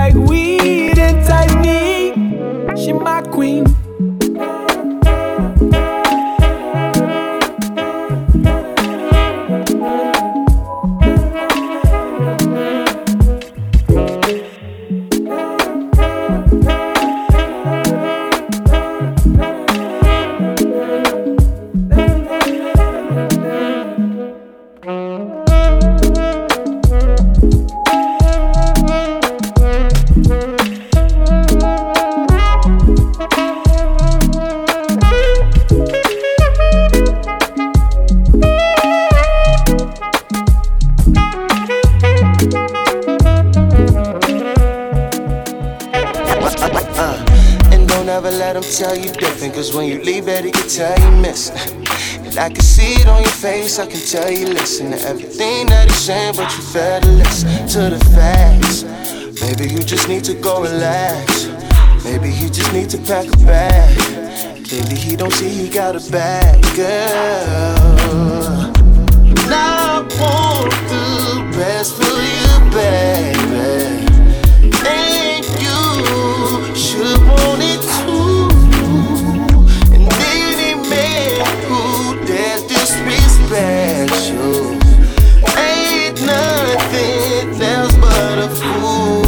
let him tell you different. Cause when you leave, Betty can tell you miss. And I can see it on your face, I can tell you listen to everything that he's saying, but you fail to listen to the facts. Maybe you just need to go relax. Maybe he just need to pack a bag. Clearly he don't see he got a bad girl. Now I want the best for you, baby. And you should want it too. And any man who dares disrespect you ain't nothing else but a fool.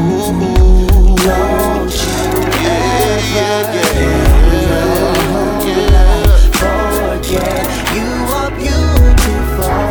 Don't you yeah, yeah, yeah, yeah. Forget you are beautiful.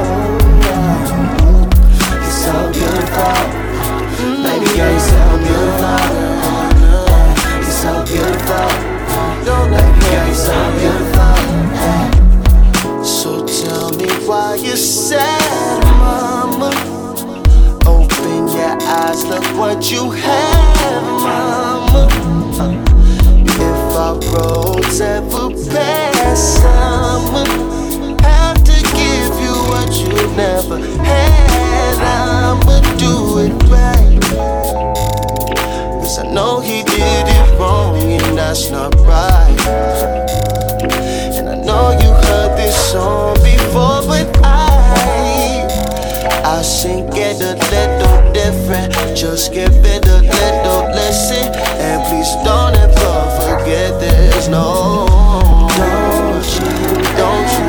You're so beautiful. Baby girl, you're so beautiful. You're so beautiful. Baby girl, you're so beautiful. So tell me why you're sad, mama. Open your eyes, look what you have, mama. If our roads ever pass, I'ma have to give you what you never had. I'ma do it right. Cause I know he did it wrong and that's not right. And I know you heard this song before, but I I sing it a little different. Just give it a little listen. And please don't ever forget this, no. Don't you, don't you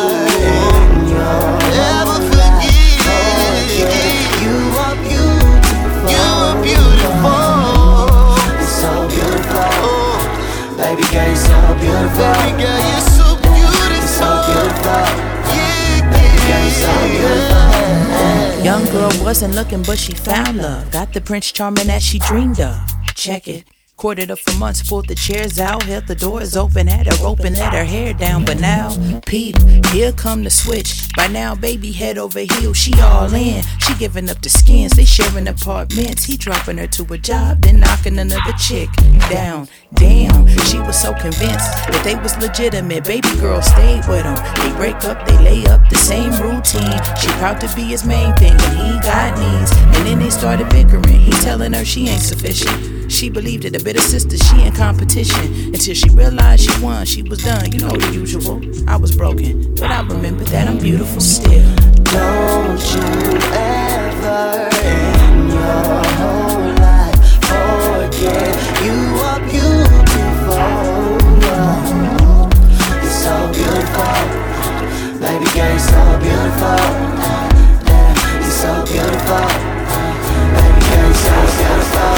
ever forget. You are beautiful. You are beautiful. You're so beautiful. Baby girl, you're so beautiful. Baby girl, you're so beautiful. You're so beautiful. Baby girl, you're so beautiful. Young girl wasn't looking, but she found love. Got the Prince Charming that she dreamed of. Check it. Courted her for months, pulled the chairs out, held the doors open, had her rope and let her hair down. But now, peep, here come the switch. By now, baby, head over heels, she all in. She giving up the skins, they sharing apartments. He dropping her to a job, then knocking another chick down. Damn, she was so convinced that they was legitimate. Baby girl stayed with him. They break up, they lay up, the same routine. She proud to be his main thing, and he got needs. And then they started bickering. He telling her she ain't sufficient. She believed it, a bitter sister, she in competition. Until she realized she won, she was done, you know the usual. I was broken, but I remember that I'm beautiful still. Don't you ever in your whole life forget you are beautiful. You're so beautiful. Baby girl, you're so beautiful. Yeah, you're so beautiful. Baby girl, you're so beautiful.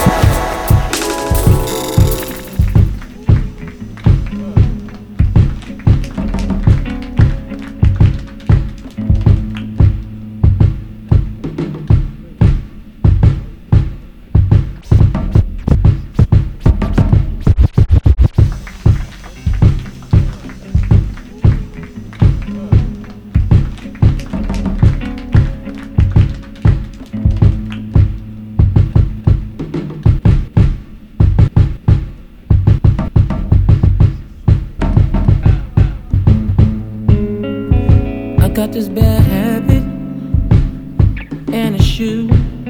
Got this bad habit and a shoe.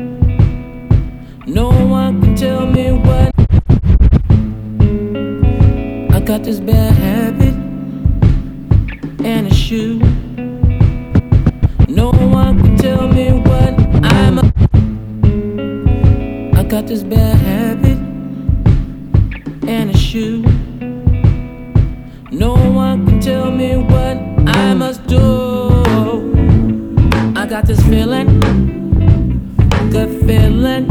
No one can tell me what. I got this bad habit and a shoe. No one can tell me what I'm a. I got this bad habit and a shoe. No one can tell me what I must do. I got this feeling, good feeling,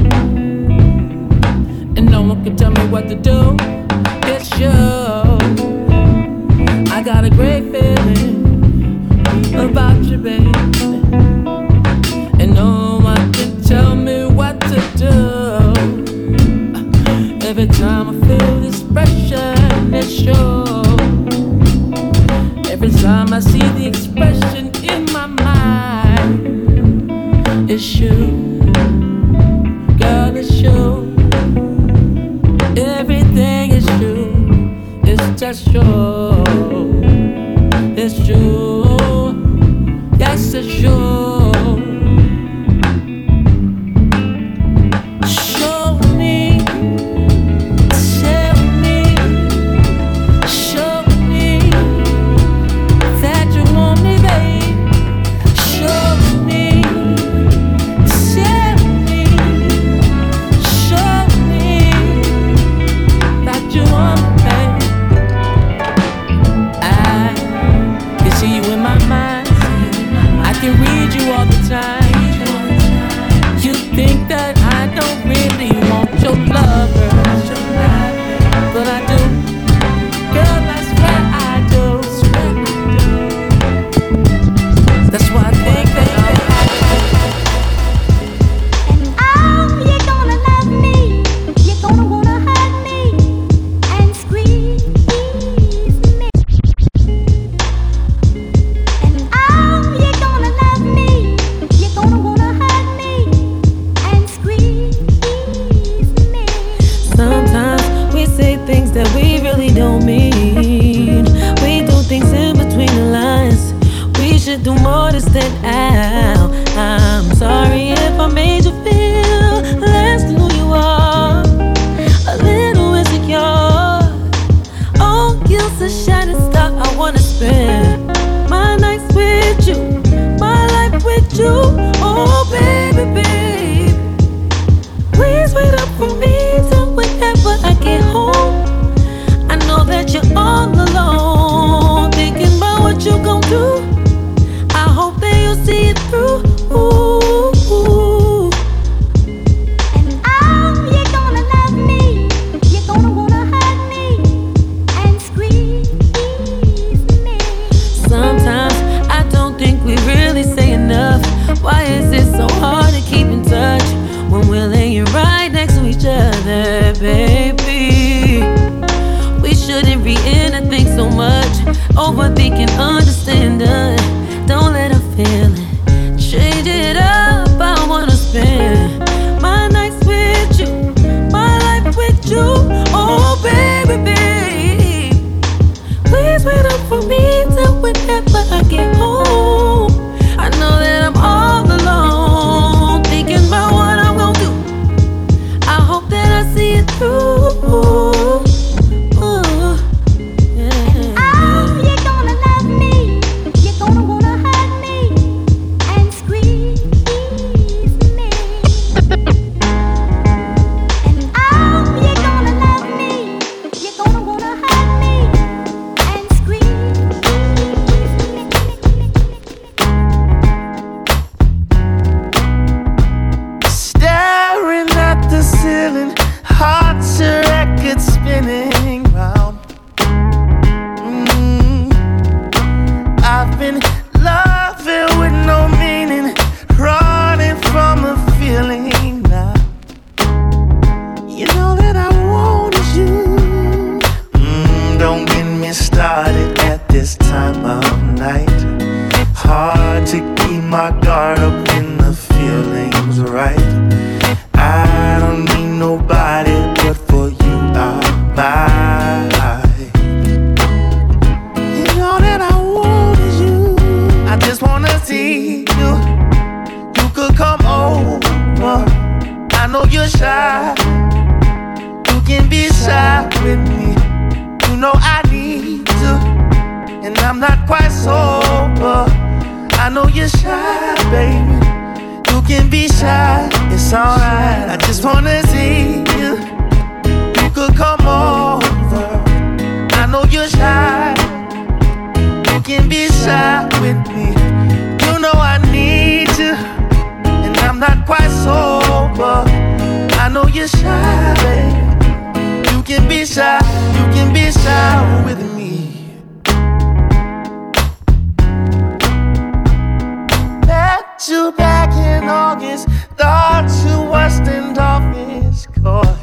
and no one can tell me what to do. It's you. I got a great feeling about you, baby, and no one can tell me what to do. Every time I feel this pressure, it's you. Every time I see the expression in my mind, it's you, girl, it's you. Everything is you. baby. We shouldn't read anything so much. Overthinking, understanding. Don't let her feel it. Change it up, I wanna spend my nights with you, my life with you. Oh baby, babe, please wait up for me till whenever I get home. I know that I'm all alone, thinking about what I'm gonna do. I hope that I see it through. Ooh, yeah. Oh, you're gonna love me. You're gonna wanna hug me and squeeze me. And oh, you're gonna love me. You're gonna wanna hug me and squeeze me. Staring at the ceiling, heart's a record spinning round. Mm. I've been loving with no meaning, running from a feeling now. You know that I wanted you. Mm, don't get me started at this time of night. Hard to keep my guard up when the feeling's right. I don't need nobody but for you are mine. You know that I wanted you. I just wanna see you. You could come over. I know you're shy. You can be shy with me. You know I need to, and I'm not quite sober. I know you're shy, baby. You can be shy, it's alright. I just wanna see you. You could come over. I know you're shy. You can be shy with me. You know I need you, and I'm not quite sober. I know you're shy, baby. You can be shy. You can be shy with me. Met you back in August, thought you were standoffish, coy.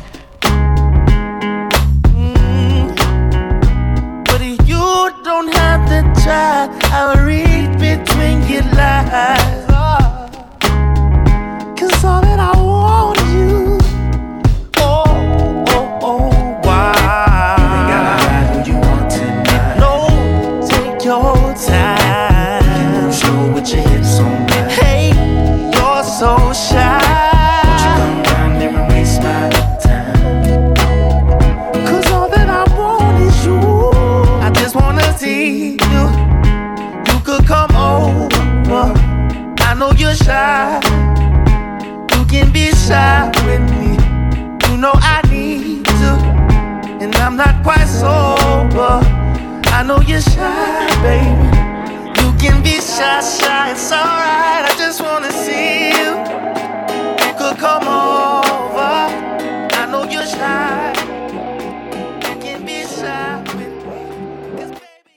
Mm. But you don't have to try. I'll read between your lines. Oh. Cause all that I want is you. Oh, oh, oh, why? You ain't gotta hide who you want tonight. No, take your time. You can show with your hips on that. Hey, you're so shy. Won't you come down here and waste my time? Cause all that I want is you. I just wanna see you. You could come over. I know you're shy. You can be shy with me. You know I need to, and I'm not quite sober. I know you're shy, baby. You can be shy, shy, it's alright. I just wanna see you. You could come over. I know you're shy. You can be shy with me. 'Cause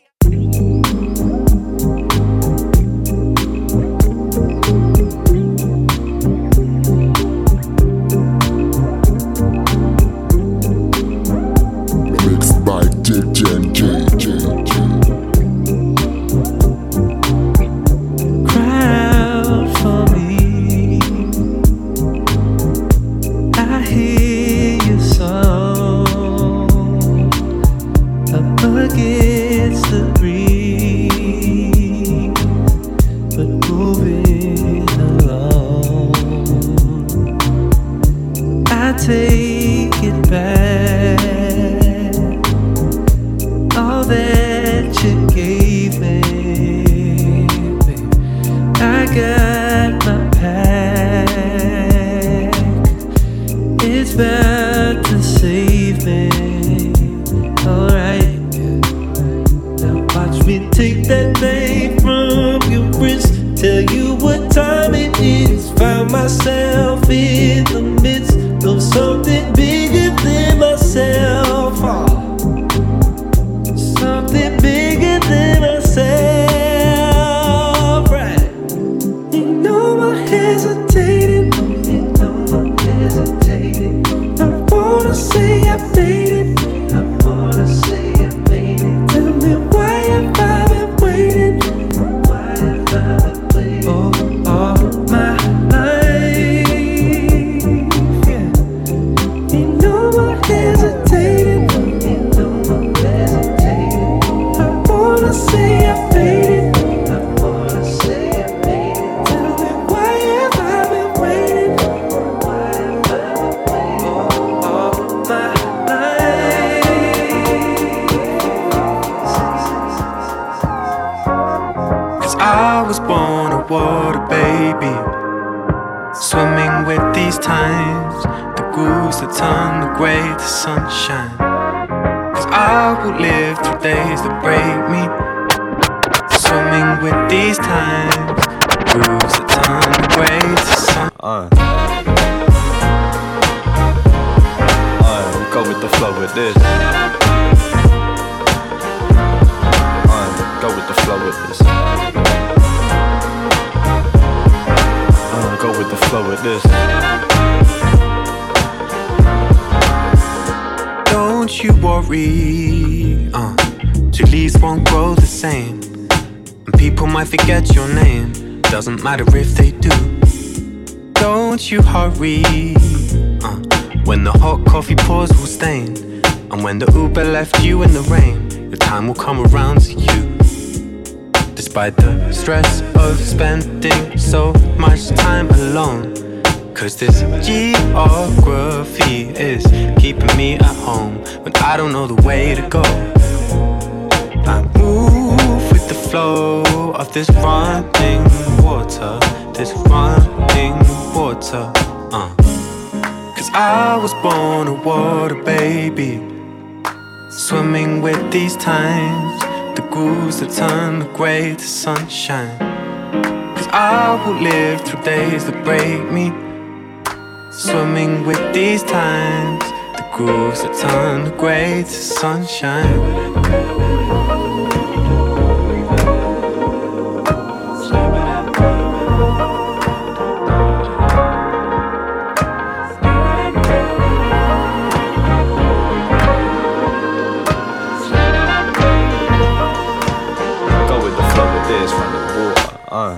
Mixed by J J J J J. Cry out for me. I hear your song up against the breeze, but moving along. I take it back, all that you gave me. I got my pack. It's about to save me. Alright, now watch me take that thing from your wrist. Tell you what time it is. Found myself in the midst of something bigger than myself. Oh. Something bigger than myself, right? You know I'm hesitating, you know I'm hesitating. I wanna say grooves that turn the grey to sunshine. Cause I will live through days that break me, swimming with these times, grooves that turn the grey to sun. Uh. Uh, we go with the flow with this. Uh, go with the flow with this. Uh, go with the flow with this. Don't you worry, uh, two leaves won't grow the same, and people might forget your name. Doesn't matter if they do. Don't you hurry, uh, when the hot coffee pours will stain, and when the Uber left you in the rain, your time will come around to you. Despite the stress of spending so much time alone, cause this geography is keeping me at home when I don't know the way to go. I move with the flow of this running water, this running water, uh. Cause I was born a water baby, swimming with these times, the grooves that turn the grey to sunshine. Cause I will live through days that break me, swimming with these times, the grooves that turn the grey to sunshine. Uh.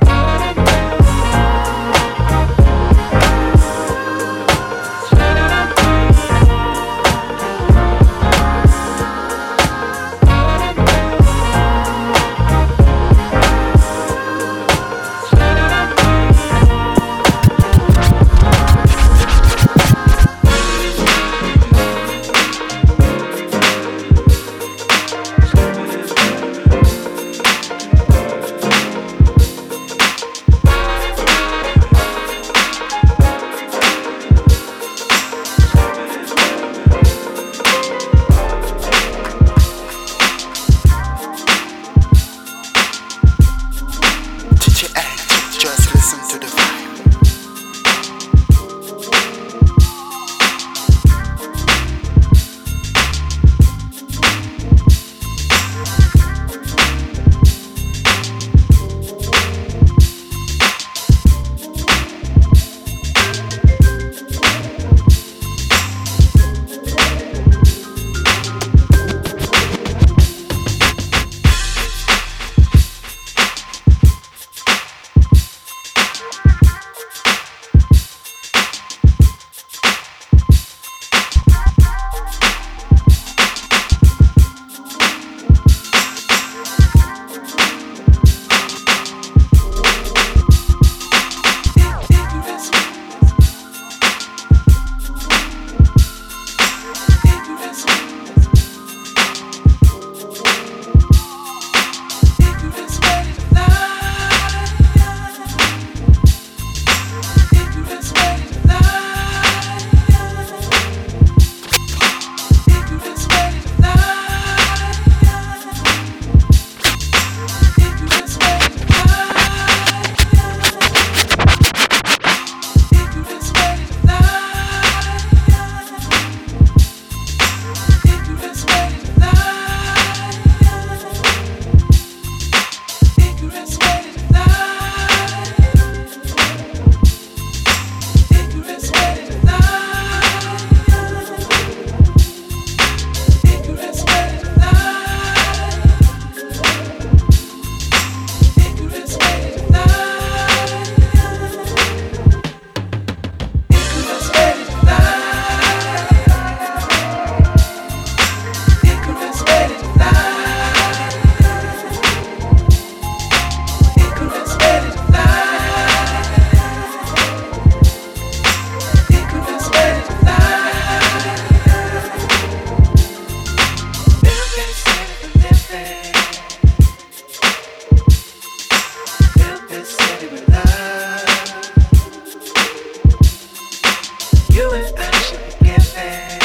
waiting.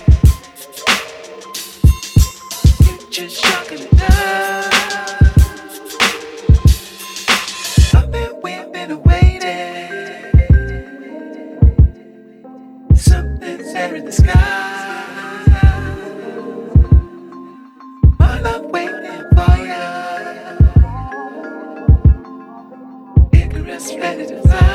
Get your chocolate love. I've been waiting, been waiting. Something's there in the sky. My love waiting for you. Icarus ready to fly.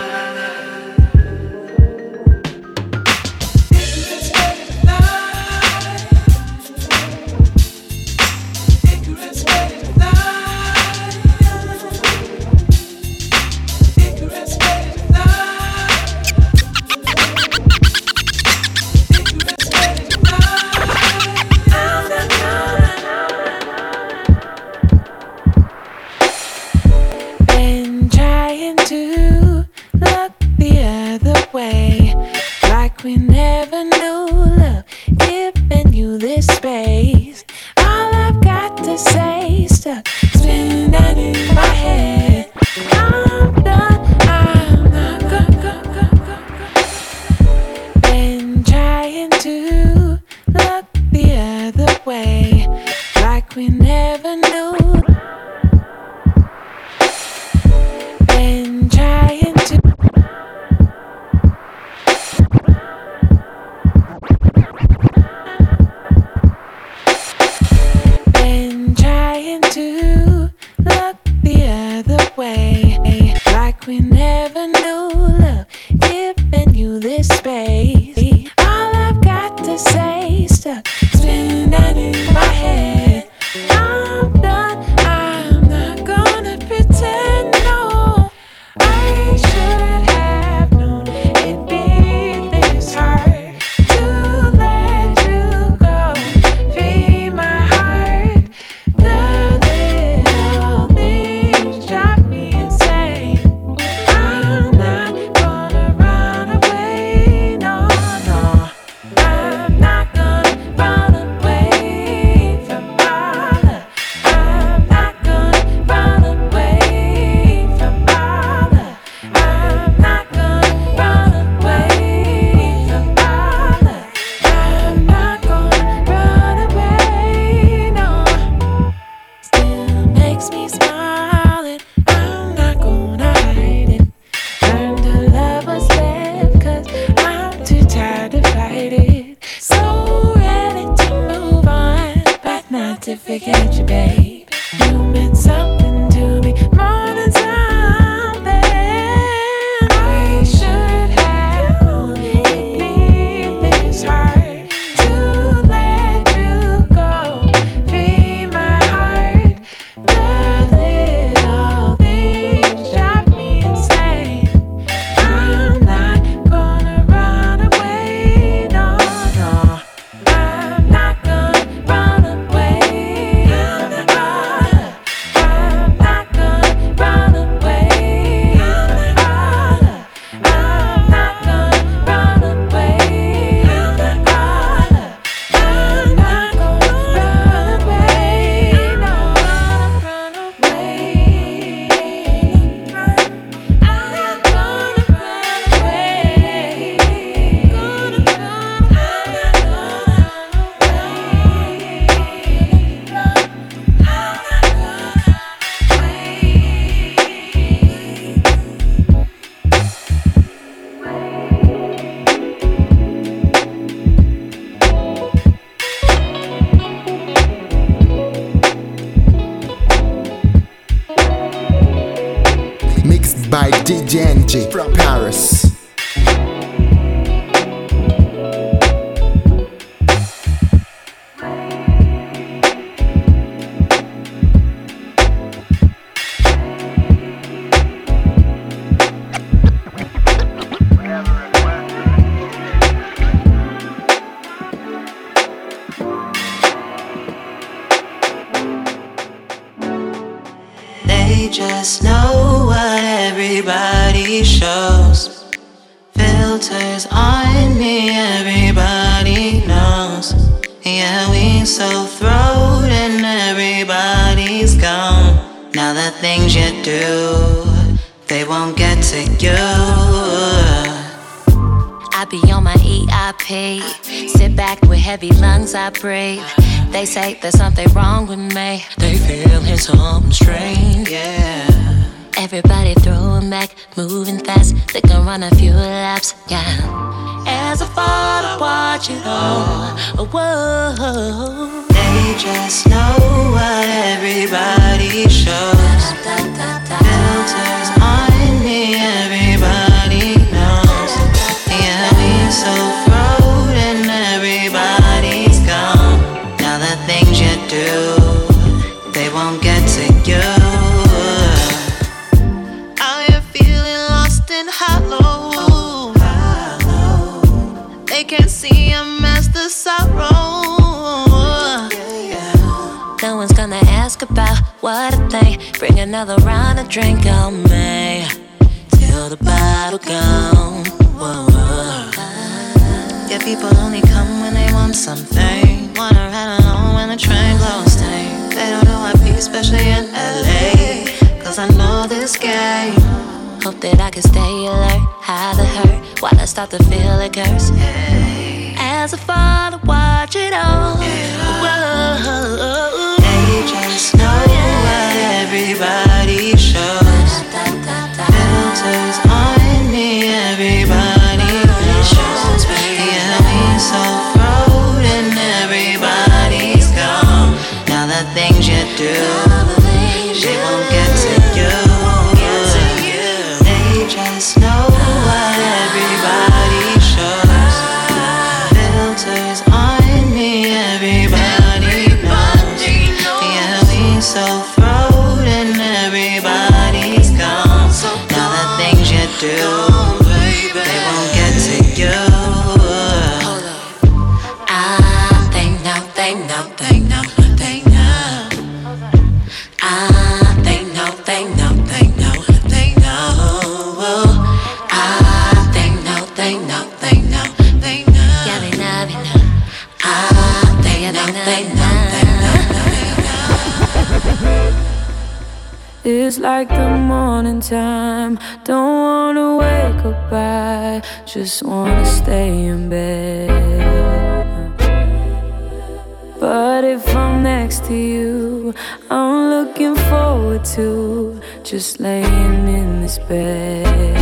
By D J N J from Paris. They just know what everybody shows. Filters on me, everybody knows. Yeah, we so throwed and everybody's gone. Now the things you do, they won't get to you. I be on my E I P. Sit back with heavy lungs, I breathe. They say there's something wrong with me. They feeling something strange, yeah. Everybody throwing back, moving fast. They can run a few laps, yeah. As I fall to watch it all, whoa. They just know what everybody shows. Filters on me, everybody knows. Yeah, we so thrown and everybody's gone. Now the things you do, they won't get to you. Out here feeling lost and hollow. They can't see a master sorrow. No one's gonna ask about what I think. Bring another round of drink on me till the bottle gone. Whoa, whoa. Yeah, people only come when they want something. Wanna ride along when the train goes down. They don't know I be, especially in L A, cause I know this game. Hope that I can stay alert, hide the hurt, while I start to feel a curse. As I fall to watch it all. Whoa. They just know what everybody shows. Filters on me, everybody shows. Yeah, we so thrown and everybody's gone. Now the things you do, they won't get to you. They just know what everybody shows. Filters on me, everybody knows. Yeah, we so thrown and everybody's gone. Now the things you do, they won't get to you. I think now, think now, think now, think now. I think now, think now, think now, think now. I think now, think now, think now, think now. Yeah, we know, we know. I think now, think now, think now. It's like the morning time. Don't wanna wake up, I just wanna stay in bed. But if I'm next to you, I'm looking forward to just laying in this bed.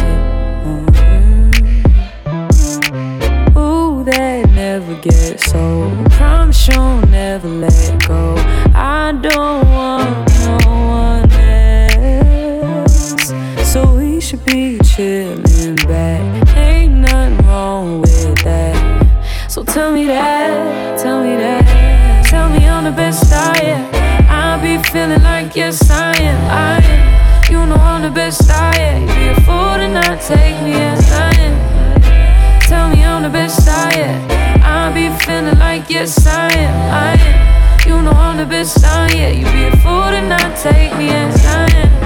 Mm-hmm. Ooh, that never gets old. Promise you'll never let go. I don't want no one else, so we should be chilling back. Ain't nothing wrong with that. So tell me that, tell me that. Tell me I'm the best I am. I be feeling like yes I am, I am. You know I'm the best I am. You be a fool to not take me as I am. Tell me I'm the best I am. I be feeling like yes I am, I am. You know I'm the best I am. You be a fool to not take me as I am.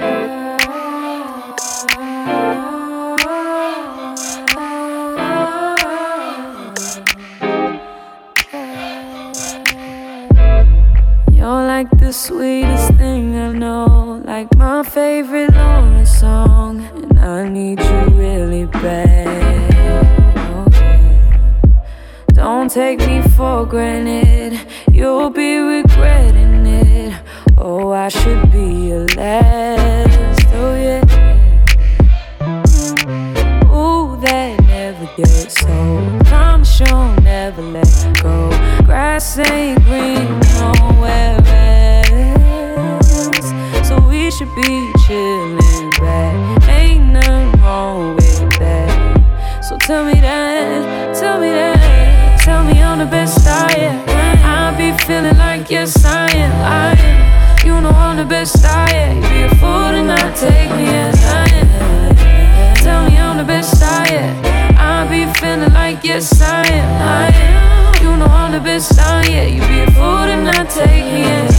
You're like the sweetest thing I know, like my favorite Lauren song, and I need you really bad. Okay. Don't take me for granted, you'll be regretting it. Oh, I should be your last, oh yeah. Ooh, that never gets old. Promise you'll never let go. Grass ain't green nowhere else, so we should be chilling back. Ain't nothing wrong with that. So tell me that, tell me that. Tell me I'm the best I am. I be feeling like yes I am, I am. You know I'm the best I am. You be a fool to not take me as I am. Tell me I'm the best I am. I be feeling like yes I am, I am. You know I'm the best I am. You be a fool to not take me as